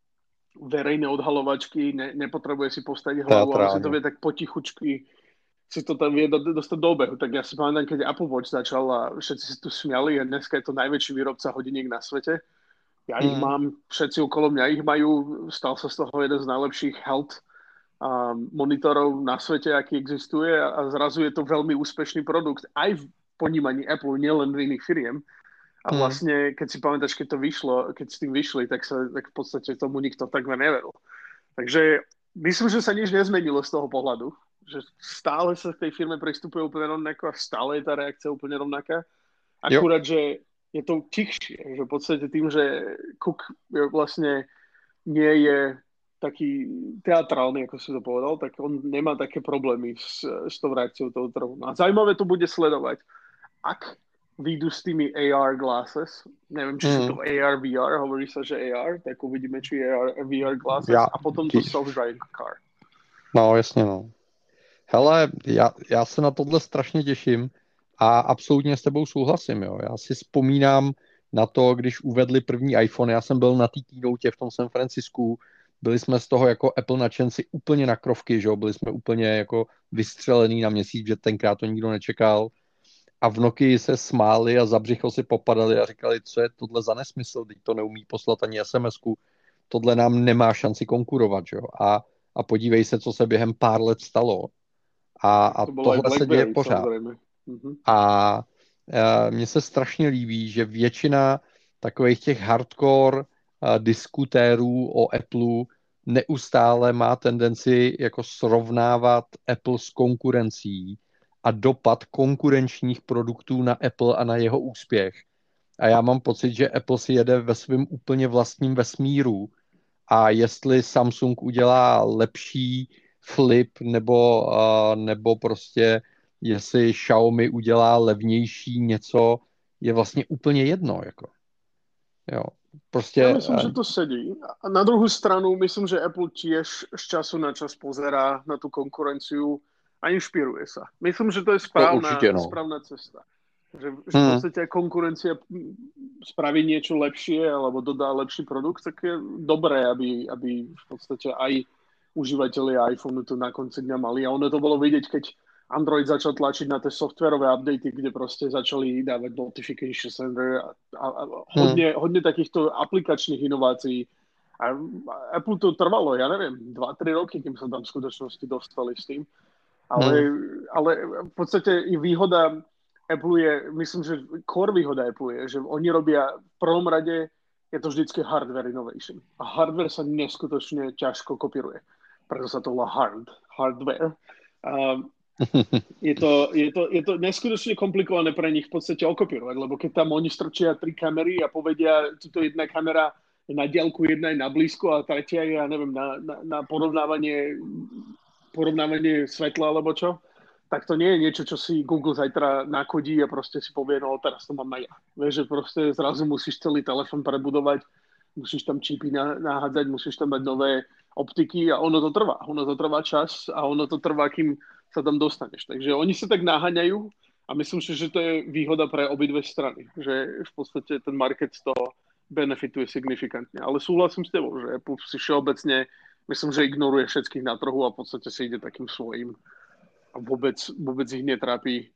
verejné odhalovačky, ne, nepotrebuje si postaviť hlavu, ale si to vie tak potichučky si to tam vie dostať do obehu. Tak ja si pamätám, keď Apple Watch začal a všetci si tu smiali a dneska je to najväčší výrobca hodiniek na svete. Ja mm. ich mám, všetci okolo mňa ich majú, stal sa z toho jeden z najlepších health um, monitorov na svete, aký existuje a zrazu je to veľmi úspešný produkt aj v ponímaní Apple, nielen v iných firiem. A vlastne, keď si pamätáš, keď to vyšlo, keď s tým vyšli, tak sa tak v podstate tomu nikto takmer neveril. Takže myslím, že sa nič nezmenilo z toho pohľadu. Že stále sa k tej firme pristupuje úplne rovnako a stále je tá reakcia úplne rovnaká. Akurát, jo. Že je to tichšie. Že v podstate tým, že Cook vlastne nie je taký teatrálny, ako si to povedal, tak on nemá také problémy s, s tou reakciou toho trhu. No a zaujímavé to bude sledovať. Ak výjdu s tými á er glasses, neviem, či mm. sú to á er, vé er, hovorí sa, že á er, tak uvidíme, či á er, vé er glasses ja, a potom to self-driving car. No, jasně, no. Hele, já, já se na tohle strašně těším a absolutně s tebou souhlasím. Jo. Já si vzpomínám na to, když uvedli první iPhone, já jsem byl na té keynote v tom San Francisku, byli jsme z toho jako Apple nadšenci úplně na krovky, že jo? Byli jsme úplně jako vystřelený na měsíc, že tenkrát to nikdo nečekal. A v Nokii se smáli a za břicho si popadali a říkali, co je tohle za nesmysl, teď to neumí poslat ani es em esku, tohle nám nemá šanci konkurovat. Že jo? A, a podívej se, co se během pár let stalo. A, a to tohle se děje pořád. Mm-hmm. A, a mně se strašně líbí, že většina takových těch hardcore a, diskutérů o Apple neustále má tendenci jako srovnávat Apple s konkurencí a dopad konkurenčních produktů na Apple a na jeho úspěch. A já mám pocit, že Apple si jede ve svém úplně vlastním vesmíru a jestli Samsung udělá lepší Flip nebo, uh, nebo prostě jestli Xiaomi udělá levnější něco, je vlastně úplně jedno. Jako. Jo, prostě, ja myslím, že to sedí. A na druhú stranu myslím, že Apple tiež z času na čas pozerá na tú konkurenciu a inšpiruje sa. Myslím, že to je správna, to určite, no. správna cesta. Že, že v podstate ak konkurencia spraví niečo lepšie alebo dodá lepší produkt, tak je dobré, aby, aby v podstate aj užívateľi iPhoneu to na konci dňa mali. A ono to bolo vidieť, keď Android začal tlačiť na tie softwarové updaty, kde proste začali dávať notification center a, a, a hodne, hmm. hodne takýchto aplikačných inovácií. A Apple to trvalo, ja neviem, dva tri roky, kým sa tam v skutočnosti dostali s tým. Ale, hmm. ale v podstate výhoda Apple je, myslím, že core výhoda Apple je, že oni robia v prvom rade, je to vždycky hardware innovation. A hardware sa neskutočne ťažko kopíruje. Preto sa to volá hard, hardware. Um, je, to, je, to, je to neskutočne komplikované pre nich v podstate okopírovať, lebo keď tam oni strčia tri kamery a povedia, tuto jedna kamera je na diaľku, jedna je na blízko a tretia je, ja neviem, na, na, na porovnávanie, porovnávanie svetla alebo čo, tak to nie je niečo, čo si Google zajtra nakodí a proste si povie, no teraz to mám aj ja. Vieš, že proste zrazu musíš celý telefón prebudovať, musíš tam čipy nahádzať, musíš tam mať nové optiky a ono to trvá. Ono to trvá čas a ono to trvá, kým sa tam dostaneš. Takže oni sa tak naháňajú a myslím si, že to je výhoda pre obidve strany. Že v podstate ten market z toho benefituje signifikantne. Ale súhlasím s tebou, že Apple si všeobecne, myslím, že ignoruje všetkých na trhu a v podstate si ide takým svojím. A vôbec, vôbec ich netrápi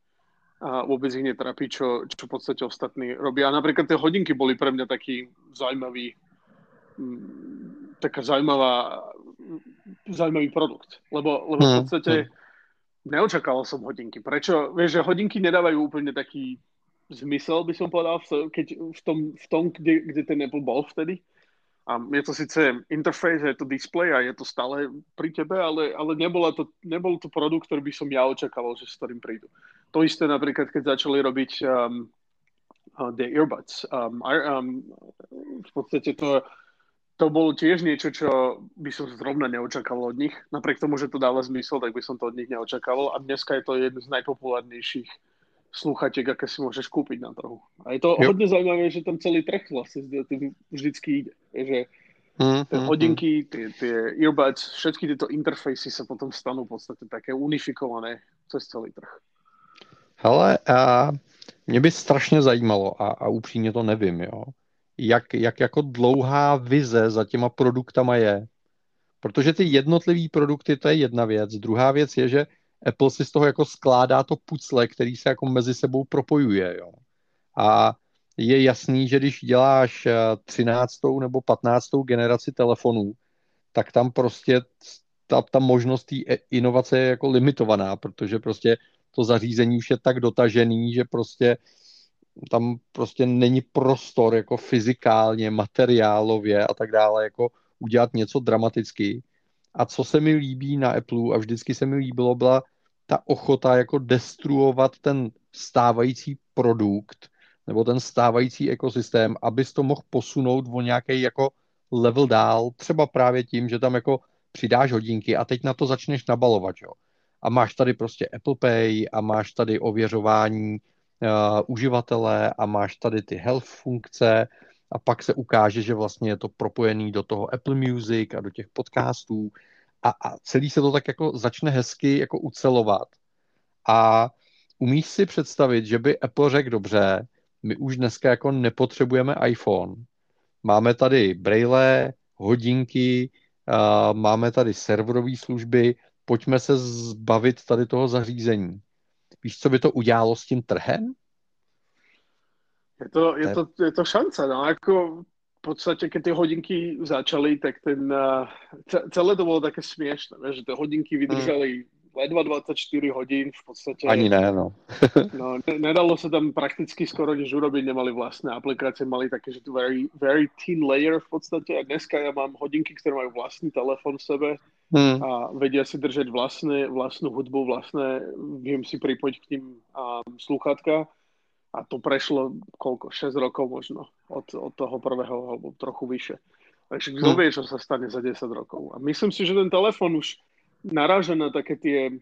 a vôbec ich netrápi, čo, čo v podstate ostatní robia. A napríklad tie hodinky boli pre mňa taký zaujímavý taká zaujímavá zaujímavý produkt. Lebo, lebo v podstate neočakával som hodinky. Prečo? Vieš, že hodinky nedávajú úplne taký zmysel, by som povedal, keď v tom, v tom kde, kde ten Apple bol vtedy. A je to síce interface, je to display a je to stále pri tebe, ale, ale nebola to, nebol to produkt, ktorý by som ja očakával, že s ktorým prídu. To isté napríklad, keď začali robiť um, uh, the earbuds. Um, um, v podstate to, to bolo tiež niečo, čo by som zrovna neočakával od nich. Napriek tomu, že to dáva zmysel, tak by som to od nich neočakával. A dneska je to jeden z najpopulárnejších slúchatiek, aké si môžeš kúpiť na trhu. A je to yep. hodne zaujímavé, že tam celý trh vlastne vždycky ide. Že mm, tie mm, hodinky, mm. tie, tie earbuds, všetky tieto interfejsy sa potom stanú v podstate také unifikované cez celý trh. Hele, a mě by strašně zajímalo, a, a upřímně to nevím, jo. jak, jak jako dlouhá vize za těma produktama je. Protože ty jednotlivý produkty, to je jedna věc. Druhá věc je, že Apple si z toho jako skládá to pucle, který se jako mezi sebou propojuje. Jo. A je jasný, že když děláš třináctou nebo patnáctou generaci telefonů, tak tam prostě ta, ta možnost té inovace je jako limitovaná, protože prostě to zařízení už je tak dotažený, že prostě tam prostě není prostor jako fyzikálně, materiálově a tak dále, jako udělat něco dramaticky. A co se mi líbí na Apple a vždycky se mi líbilo, byla ta ochota jako destruovat ten stávající produkt nebo ten stávající ekosystém, abys to mohl posunout o nějaký jako level dál, třeba právě tím, že tam jako přidáš hodinky a teď na to začneš nabalovat, jo. A máš tady prostě Apple Pay a máš tady ověřování uh, uživatele a máš tady ty health funkce a pak se ukáže, že vlastně je to propojený do toho Apple Music a do těch podcastů a, a celý se to tak jako začne hezky jako ucelovat. A umíš si představit, že by Apple řekl dobře, my už dneska jako nepotřebujeme iPhone. Máme tady braille, hodinky, uh, máme tady serverové služby, pojďme se zbavit tady toho zařízení. Víš, co by to udělalo s tím trhem? Je to, je to, je to šance, no, ako v podstate, keď tie hodinky začali, tak ten, uh, celé to bolo také smiešné, že tie hodinky vydržali hmm. ledva dvadsaťštyri hodín, v podstate. Ani ne, no. no ne, nedalo sa tam prakticky skoro nič urobiť, nemali vlastné aplikácie, mali také, že tu very, very thin layer v podstate a dneska ja mám hodinky, ktoré majú vlastný telefon v sebe hmm. a vedia si držať vlastné, vlastnú hudbu, vlastné, viem si pripojiť k ním um, slúchatka. A to prešlo koľko? šesť rokov možno od, od toho prvého, alebo trochu vyššie. Takže kto vie, čo sa stane za desať rokov. A myslím si, že ten telefon už naráža na také tie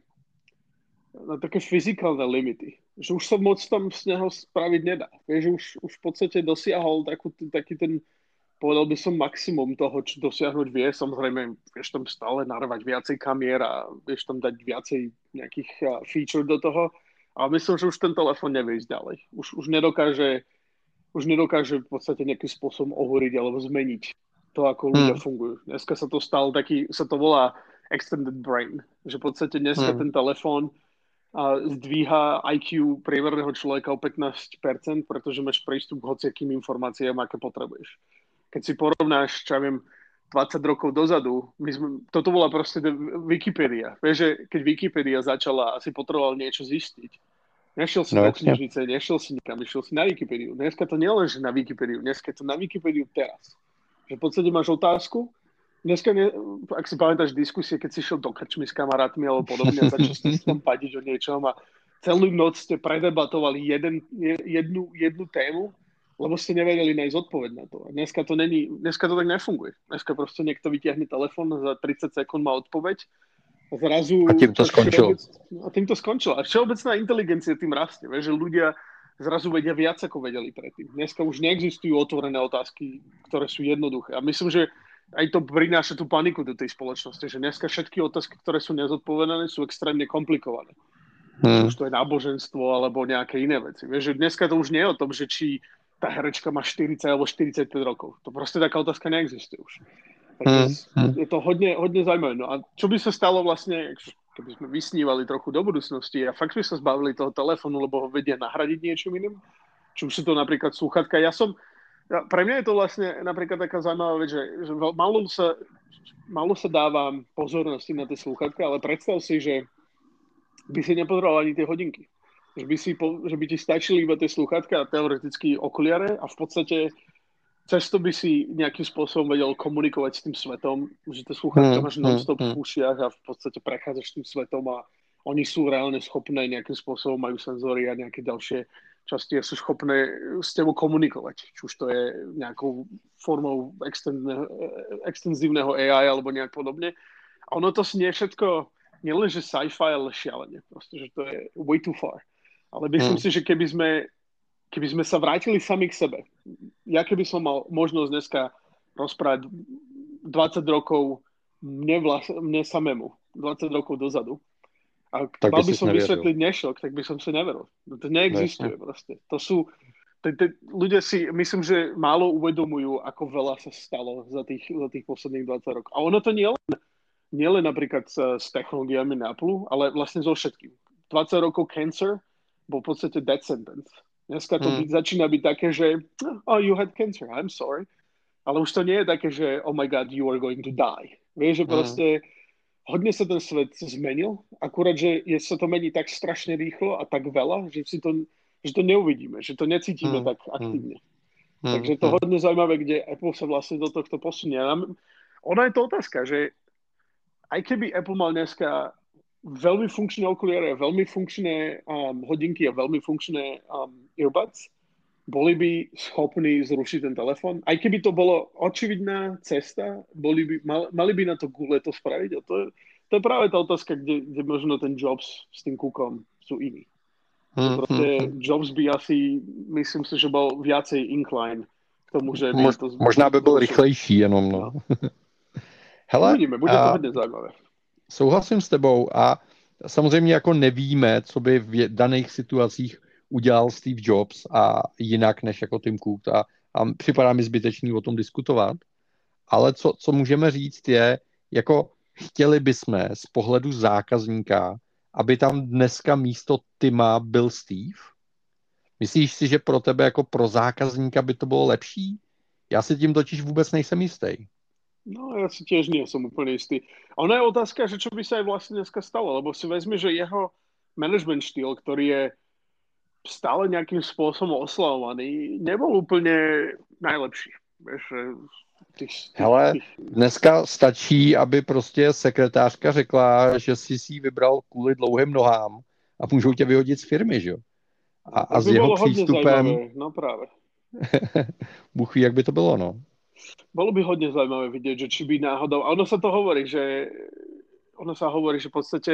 na také fyzikálne limity. Že už sa moc tam z neho spraviť nedá. Vieš, že už, už v podstate dosiahol takú, taký ten, povedal by som, maximum toho, čo dosiahnuť vie. Samozrejme, vieš tam stále narvať viacej kamier a vieš tam dať viacej nejakých feature do toho. Ale myslím, že už ten telefon nevie ísť ďalej. Už, už, nedokáže, už nedokáže v podstate nejakým spôsobom ohoriť alebo zmeniť to, ako ľudia hmm. fungujú. Dneska sa to stalo taký, sa to volá extended brain. Že v podstate dneska hmm. ten telefon a, zdvíha í kjú priemerného človeka o pätnásť percent, pretože máš prístup k hociakým informáciám, aké potrebuješ. Keď si porovnáš, čo ja viem, dvadsať rokov dozadu, my sme, toto bola proste Wikipédia. Vieš, že keď Wikipédia začala, asi potreboval niečo zistiť. Nešiel si no, na knižnice, nešiel si nikam, išiel si na Wikipédiu. Dneska to neleží na Wikipédiu, dneska je to na Wikipédiu teraz. Že v podstate máš otázku, dneska, ne, ak si pamätáš diskusie, keď si šiel do krčmy s kamarátmi alebo podobne a začal ste tam padiť o niečom a celú noc ste predebatovali jeden, jednu, jednu tému, lebo ste nevedeli nájsť odpoveď na to. A dneska to není, dneska to tak nefunguje. Dneska proste niekto vyťahne telefón a za tridsať sekúnd má odpoveď a zrazu... A tým to skončilo. A tým to skončilo. A všeobecná inteligencia tým rastie. Vieš, že ľudia zrazu vedia viac, ako vedeli predtým. Dneska už neexistujú otvorené otázky, ktoré sú jednoduché. A myslím, že aj to prináša tú paniku do tej spoločnosti, že dneska všetky otázky, ktoré sú nezodpovedané, sú extrémne komplikované. Hmm. Už to je náboženstvo alebo nejaké iné veci. Vieš, že dneska to už nie je o tom, že či tá herečka má štyridsať alebo štyridsaťpäť rokov. To proste taká otázka neexistuje už. Takže hmm. je to hodne, hodne zaujímavé. No a čo by sa stalo vlastne, keby sme vysnívali trochu do budúcnosti a fakt by sa zbavili toho telefónu, lebo ho vedia nahradiť niečím iným? Či už sú to napríklad slúchatka. Ja som, ja, pre mňa je to vlastne napríklad taká zaujímavá vec, že, že malo sa, malo sa dáva pozornosti na tie slúchatka, ale predstav si, že by si nepozeral ani tie hodinky. Že by, si, že by ti stačili iba tie slúchatka a teoreticky okuliare a v podstate cez to by si nejakým spôsobom vedel komunikovať s tým svetom, že tie slúchatka mm, máš non-stop mm, v ušiach a v podstate prechádzaš tým svetom a oni sú reálne schopné nejakým spôsobom, majú senzory a nejaké ďalšie časti a sú schopné s tebou komunikovať. Či už to je nejakou formou extenzívneho á í alebo nejak podobne. A ono to nie všetko, nielen že sci-fi, ale šialene. Proste, že to je way too far. Ale myslím hmm. si, že keby sme, keby sme sa vrátili sami k sebe, ja keby som mal možnosť dneska rozprávať dvadsať rokov mne, vlas, mne samému, dvadsať rokov dozadu, a tak mal by som vysvetliť nešok, tak by som si neveril. To neexistuje no, proste. To sú, te, te, ľudia si, myslím, že málo uvedomujú, ako veľa sa stalo za tých, za tých posledných dvadsať rokov. A ono to nie len, nie len napríklad s, s technológiami na Apple, ale vlastne so všetkým. dvadsať rokov cancer bol v podstate death sentence. Dneska to hmm. byť, začína byť také, že oh, you had cancer, I'm sorry. Ale už to nie je také, že oh my god, you are going to die. Vieš, že proste hodne sa ten svet zmenil, akurát, že je, sa to mení tak strašne rýchlo a tak veľa, že si to, že to neuvidíme, že to necítime hmm. tak aktívne. Hmm. Takže to hodne zaujímavé, kde Apple sa vlastne do tohto posunie. Ona je to otázka, že aj keby Apple mal dneska veľmi funkčné okuliare, veľmi funkčné um, hodinky a veľmi funkčné um, earbuds, boli by schopní zrušiť ten telefón. Aj keby to bolo očividná cesta, boli by, mal, mali by na to gule to spraviť. A to je, to je práve tá otázka, kde, kde možno ten Jobs s tým Cookom sú iní. Hmm, Proste hmm, Jobs by asi, myslím si, že bol viacej incline k tomu, že... Mož, to, možná by byl rychlejší jenom, no. Hele, uvidíme, bude to hodně zajímavé. Souhlasím s tebou a samozřejmě jako nevíme, co by v daných situacích udělal Steve Jobs a jinak než jako Tim Cook a, a připadá mi zbytečný o tom diskutovat, ale co, co můžeme říct je, jako chtěli bychom z pohledu zákazníka, aby tam dneska místo Tima byl Steve? Myslíš si, že pro tebe jako pro zákazníka by to bylo lepší? Já si tím totiž vůbec nejsem jistý. No, ja si tiež nie som úplne istý. A ona je otázka, že čo by sa aj vlastne dneska stalo, lebo si vezme, že jeho management štýl, ktorý je stále nejakým spôsobom oslavovaný, nebol úplne najlepší. Vieš, tých, Hele, tých... dneska stačí, aby prostě sekretářka řekla, že si si vybral kvůli dlouhým nohám a můžou tě vyhodit z firmy, že jo? A, a s jeho přístupem... No práve. Bůh ví, jak by to bylo, no. Bolo by hodne zaujímavé vidieť, že či by náhodou... A ono sa to hovorí, že... Ono sa hovorí, že v podstate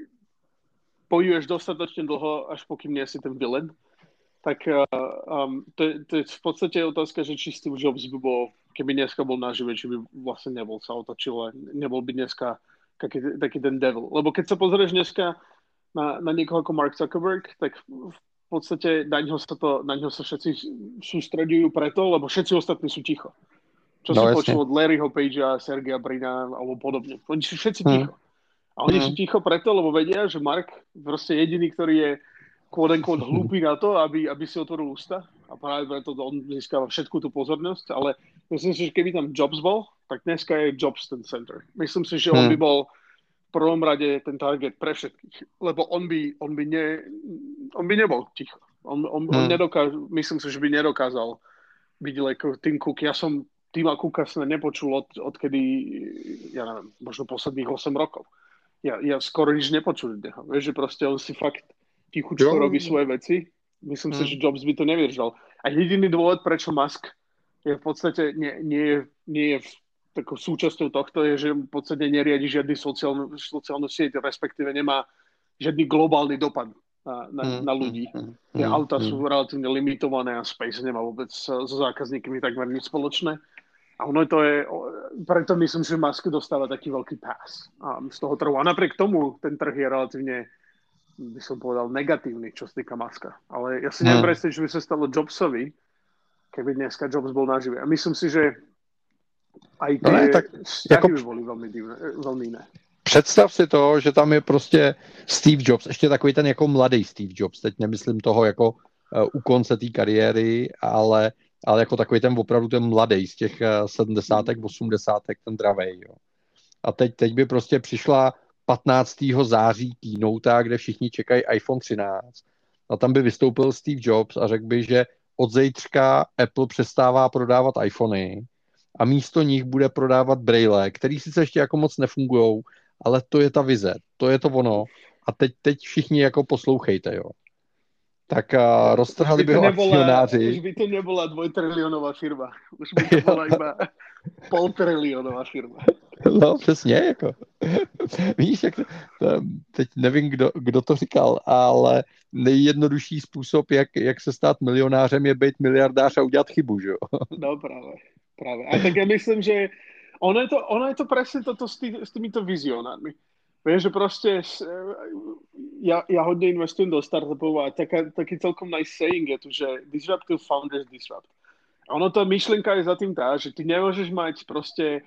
bojuješ dostatočne dlho, až pokým nie si ten villain. Tak um, to, to je v podstate otázka, že či Steve Jobs by bol, keby dneska bol nažive, či by vlastne nebol sa otočil, nebol by dneska taký, taký ten devil. Lebo keď sa pozrieš dneska na, na niekoho ako Mark Zuckerberg, tak v podstate na ňo sa, to, na ňo sa všetci sústredujú preto, lebo všetci ostatní sú ticho. Čo no, si počul od Larryho Pagea, Sergeja Brina alebo podobne. Oni sú všetci ticho. Hmm. A oni hmm. sú ticho preto, lebo vedia, že Mark proste jediný, ktorý je quote unquote hlúpy na to, aby, aby si otvoril ústa. A práve preto on získava všetku tú pozornosť. Ale myslím si, že keby tam Jobs bol, tak dneska je Jobs ten center. Myslím si, že hmm. on by bol v prvom rade ten target pre všetkých. Lebo on by, on by, ne, on by nebol ticho. On, on, hmm. on nedokáž, myslím si, že by nedokázal byť ako Tim Cook. Ja som Tima Cooka som nepočul od, odkedy, ja neviem, možno posledných osem rokov. Ja, ja skoro nič nepočul od neho. Vieš, že proste on si fakt tichučko robí svoje veci. Myslím hmm. si, že Jobs by to nevydržal. A jediný dôvod, prečo Musk je v podstate nie, nie, je, nie je takou súčasťou tohto, je, že v podstate neriadi žiadny sociálnu, sociálnu sieť, respektíve nemá žiadny globálny dopad na, na, mm, na ľudí. Mm, Tie mm, auta mm. sú relatívne limitované a Space nemá vôbec so zákazníkmi takmer nič spoločné. A ono to je, preto myslím, že Musk dostáva taký veľký pass z toho trhu. A napriek tomu ten trh je relatívne, by som povedal, negatívny, čo sa týka Muska. Ale ja si neviem predstaviť, že by sa stalo Jobsovi, keby dneska Jobs bol nažive. A myslím si, že aj tie no ne, tak vzťahy jako... by boli veľmi divné, veľmi iné. Představ si to, že tam je prostě Steve Jobs, ještě takový ten jako mladý Steve Jobs, teď nemyslím toho jako uh, u konce té kariéry, ale, ale jako takový ten opravdu ten mladý z těch uh, sedmdesátek, osmdesátek, ten dravej. Jo. A teď, teď by prostě přišla patnáctého září keynote, kde všichni čekají iPhone třináct. A tam by vystoupil Steve Jobs a řekl by, že od zítřka Apple přestává prodávat iPhony a místo nich bude prodávat braille, který sice ještě jako moc nefungujou, ale to je ta vize, to je to ono. A teď, teď všichni jako poslouchejte, jo. Tak uh, roztrhali by ho akcionáři. Už by to nebola dvojtrilionová firma. Už by to bola iba poltrilionová firma. No, přesně, jako. Víš, jak to, teď nevím, kdo, kdo to říkal, ale nejjednodušší způsob, jak, jak se stát milionářem, je být miliardář a udělat chybu, že jo? No práve, práve. A tak ja myslím, že ono je to, ono je to presne toto s, tý, s týmito vizionármi. Vieš, že proste ja, ja hodne investujem do startupov a taká, taký celkom nice saying je tu, že disruptive founders disrupt. A ono to myšlienka je za tým tá, že ty nemôžeš mať proste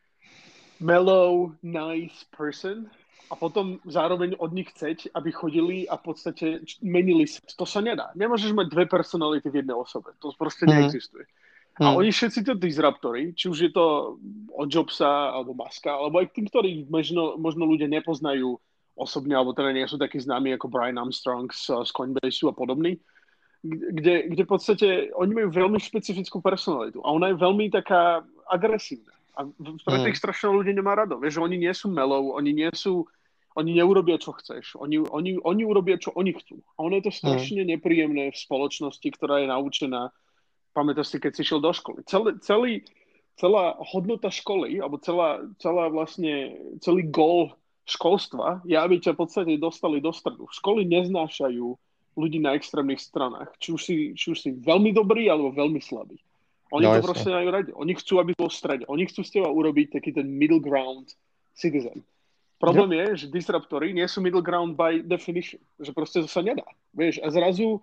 mellow, nice person a potom zároveň od nich chceť, aby chodili a v podstate menili sa. To sa nedá. Nemôžeš mať dve personality v jednej osobe. To proste neexistuje. A Hmm. oni všetci to disruptory, či už je to od Jobsa, alebo Muska, alebo aj tým, ktorí možno, možno ľudia nepoznajú osobne, alebo teda nie sú takí známi ako Brian Armstrong z, z Coinbase a podobný, kde, kde v podstate oni majú veľmi špecifickú personalitu a ona je veľmi taká agresívna. A pre tých strašne ľudí nemá rado. Vieš, že oni nie sú mellow, oni nie sú, oni neurobia, čo chceš. Oni, oni, oni urobia, čo oni chcú. A ono je to strašne nepríjemné v spoločnosti, ktorá je naučená. Pamätáš si, keď si šiel do školy. Celý, celý, celá hodnota školy, alebo celá, celá vlastne, celý gól školstva je, aby ťa v podstate dostali do stredu. Školy neznášajú ľudí na extrémnych stranách. Či už si, či už si veľmi dobrý, alebo veľmi slabý. Oni no, to jasne. Proste majú radi. Oni chcú, aby bol v strede. Oni chcú z teba urobiť taký ten middle ground citizen. Problém yep. je, že disruptory nie sú middle ground by definition. Že proste to sa nedá. Vieš, a zrazu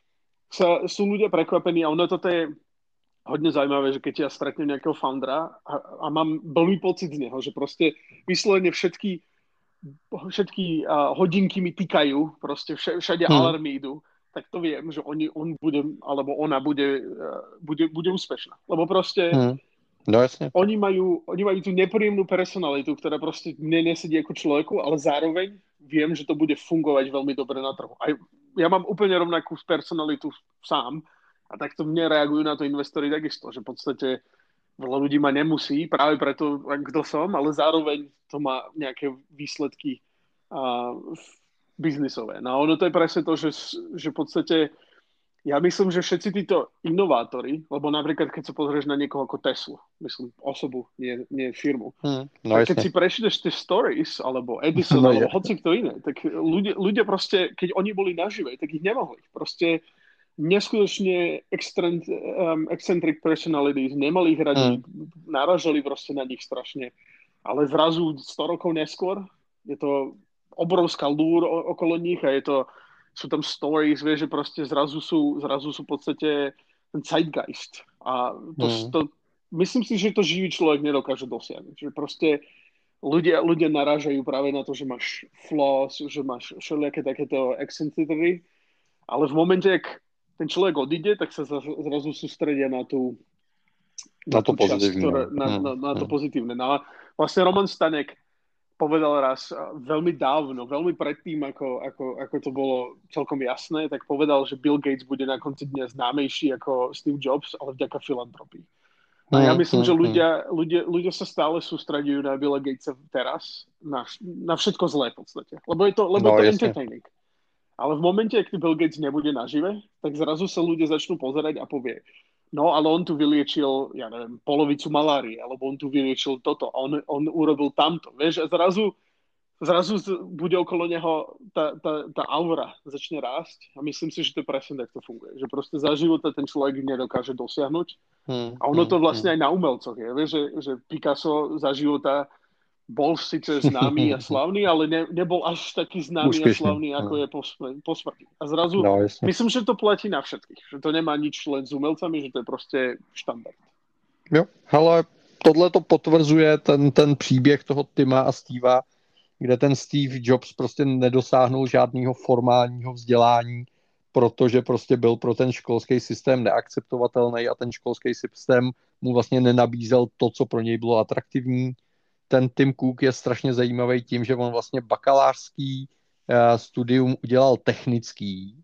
sa, sú ľudia prekvapení a ono toto je hodne zaujímavé, že keď ja stretnem nejakého foundera a, a mám veľmi pocit z neho, že proste vyslovene všetky, všetky uh, hodinky mi týkajú, proste vš- všade hmm. alarmy idú, tak to viem, že oni, on bude, alebo ona bude, uh, bude, bude úspešná. Lebo proste hmm. no, jasne. Oni, majú, oni majú tú nepríjemnú personalitu, ktorá proste mne nesedí ako človeku, ale zároveň viem, že to bude fungovať veľmi dobre na trhu. A ja mám úplne rovnakú personalitu sám a takto mne reagujú na to investori takisto, že v podstate veľa ľudí ma nemusí, práve preto, kto som, ale zároveň to má nejaké výsledky uh, biznisové. No a ono to je presne to, že, že v podstate ja myslím, že všetci títo inovátori, lebo napríklad keď sa pozrieš na niekoho ako Tesla, myslím osobu, nie, nie firmu, hmm, no tak keď si prečítaš tie stories, alebo Edison, no alebo je. Hoci kto iné, tak ľudia, ľudia proste, keď oni boli nažive, tak ich nemohli. Proste neskutočne extrent, um, eccentric personalities, nemali ich radi, hmm. naražali proste na nich strašne. Ale zrazu sto rokov neskôr je to obrovská lúr okolo nich a je to sú tam stories, vieš, že proste zrazu sú, zrazu sú v podstate ten zeitgeist. A to, mm. to, myslím si, že to živý človek nedokáže dosiahnuť. Že proste ľudia, ľudia narážajú práve na to, že máš flaws, že máš všelijaké takéto eccentricity, ale v momente, ak ten človek odíde, tak sa zrazu sústredia na tú na, na to tú časť, pozitívne. Ktoré, na, mm. na, na to pozitívne. No a vlastne Roman Stanek povedal raz veľmi dávno, veľmi predtým, ako, ako, ako to bolo celkom jasné, tak povedal, že Bill Gates bude na konci dňa známejší ako Steve Jobs, ale vďaka filantropii. A ja myslím, že ľudia, ľudia, ľudia sa stále sústredujú na Billa Gatesa teraz, na, na všetko zlé v podstate. Lebo je to, lebo no, je to entertaining. Ale v momente, ak Bill Gates nebude nažive, tak zrazu sa ľudia začnú pozerať a povie, no, ale on tu vyliečil, ja neviem, polovicu malárie, alebo on tu vyliečil toto, a on, on urobil tamto. Vieš, a zrazu, zrazu bude okolo neho tá, tá, tá aura začne rásť a myslím si, že to presne takto funguje. Že proste za života ten človek nedokáže dosiahnuť. Hmm, a ono to vlastne hmm. aj na umelcoch je. Vieš, že, že Picasso za života bol síce známy a slavný, ale ne, nebol až taký známy Úspešný. a slavný, ako je po, po smrti. A zrazu, no, myslím, že to platí na všetkých. Že to nemá nič len s umelcami, že to je proste štandard. Jo, hele, tohle to potvrzuje ten, ten příběh toho Tima a Steva, kde ten Steve Jobs prostě nedosáhnul žádného formálního vzdělání, protože prostě byl pro ten školský systém neakceptovatelný a ten školský systém mu vlastně nenabízel to, co pro něj bylo atraktivní. Ten Tim Cook je strašně zajímavý tím, že on vlastně bakalářský uh, studium udělal technický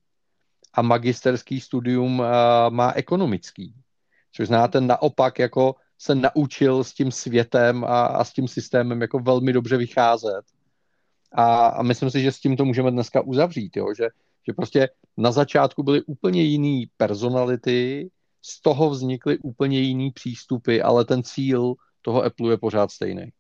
a magisterský studium uh, má ekonomický. Což znáte naopak, jako se naučil s tím světem a, a s tím systémem jako velmi dobře vycházet. A, a myslím si, že s tím to můžeme dneska uzavřít, jo? Že, že prostě na začátku byly úplně jiný personality, z toho vznikly úplně jiný přístupy, ale ten cíl toho Apple je pořád stejný.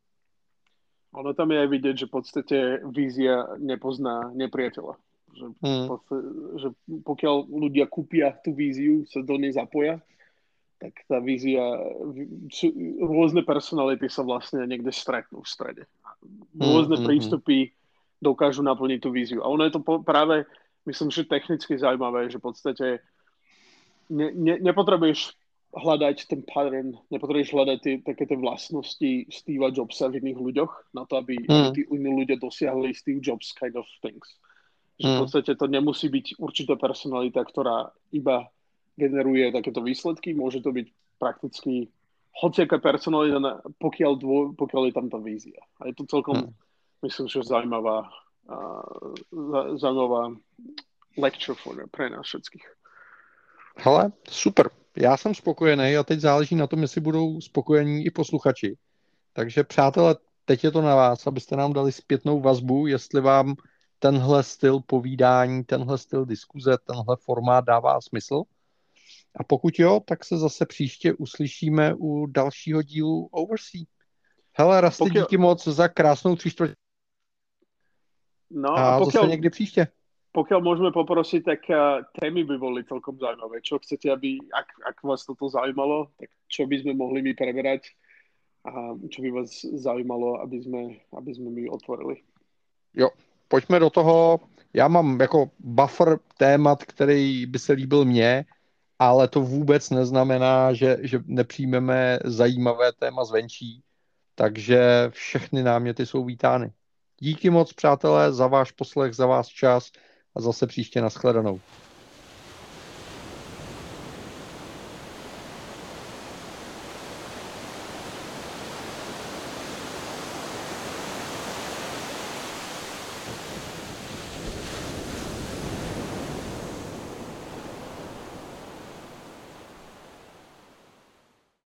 Ono tam je aj vidieť, že v podstate vízia nepozná nepriateľa. Že, hmm. podstate, že pokiaľ ľudia kúpia tú víziu, sa do nej zapoja, tak tá vízia, rôzne personality sa vlastne niekde stretnú v strede. rôzne mm, prístupy dokážu naplniť tú víziu. A ono je to práve, myslím, že technicky zaujímavé, že v podstate ne, ne, nepotrebuješ hľadať ten pattern, nepotrebuješ hľadať tie, také tie vlastnosti Steva Jobsa v iných ľuďoch na to, aby, mm. aby tí iní ľudia dosiahli Steve Jobs kind of things. Že v podstate to nemusí byť určitá personalita, ktorá iba generuje takéto výsledky. Môže to byť prakticky hociaká personalita, pokiaľ, dvo, pokiaľ je tam tá vízia. A je to celkom, hmm. myslím, že zaujímavá, uh, zaujímavá lecture for, pre nás všetkých. Hele, super. Já jsem spokojený a teď záleží na tom, jestli budou spokojení i posluchači. Takže přátelé, teď je to na vás, abyste nám dali zpětnou vazbu, jestli vám tenhle styl povídání, tenhle styl diskuze, tenhle formát dává smysl. A pokud jo, tak se zase příště uslyšíme u dalšího dílu Oversea. Hele, Rasty, pokiaľ... díky moc za krásnou tři čtvrtě. No a, a pokiaľ... zase někdy příště. Pokiaľ môžeme poprosiť, tak uh, témy by boli celkom zaujímavé. Čo chcete, aby, ak, ak vás toto zaujímalo, tak čo by sme mohli my preberať a čo by vás zaujímalo, aby sme, aby sme my otvorili. Jo, pojďme do toho. Já mám jako buffer témat, který by se líbil mně, ale to vůbec neznamená, že, že nepřijmeme zajímavé téma zvenčí. Takže všechny náměty jsou vítány. Díky moc, přátelé, za váš poslech, za váš čas a zase příště nashledanou.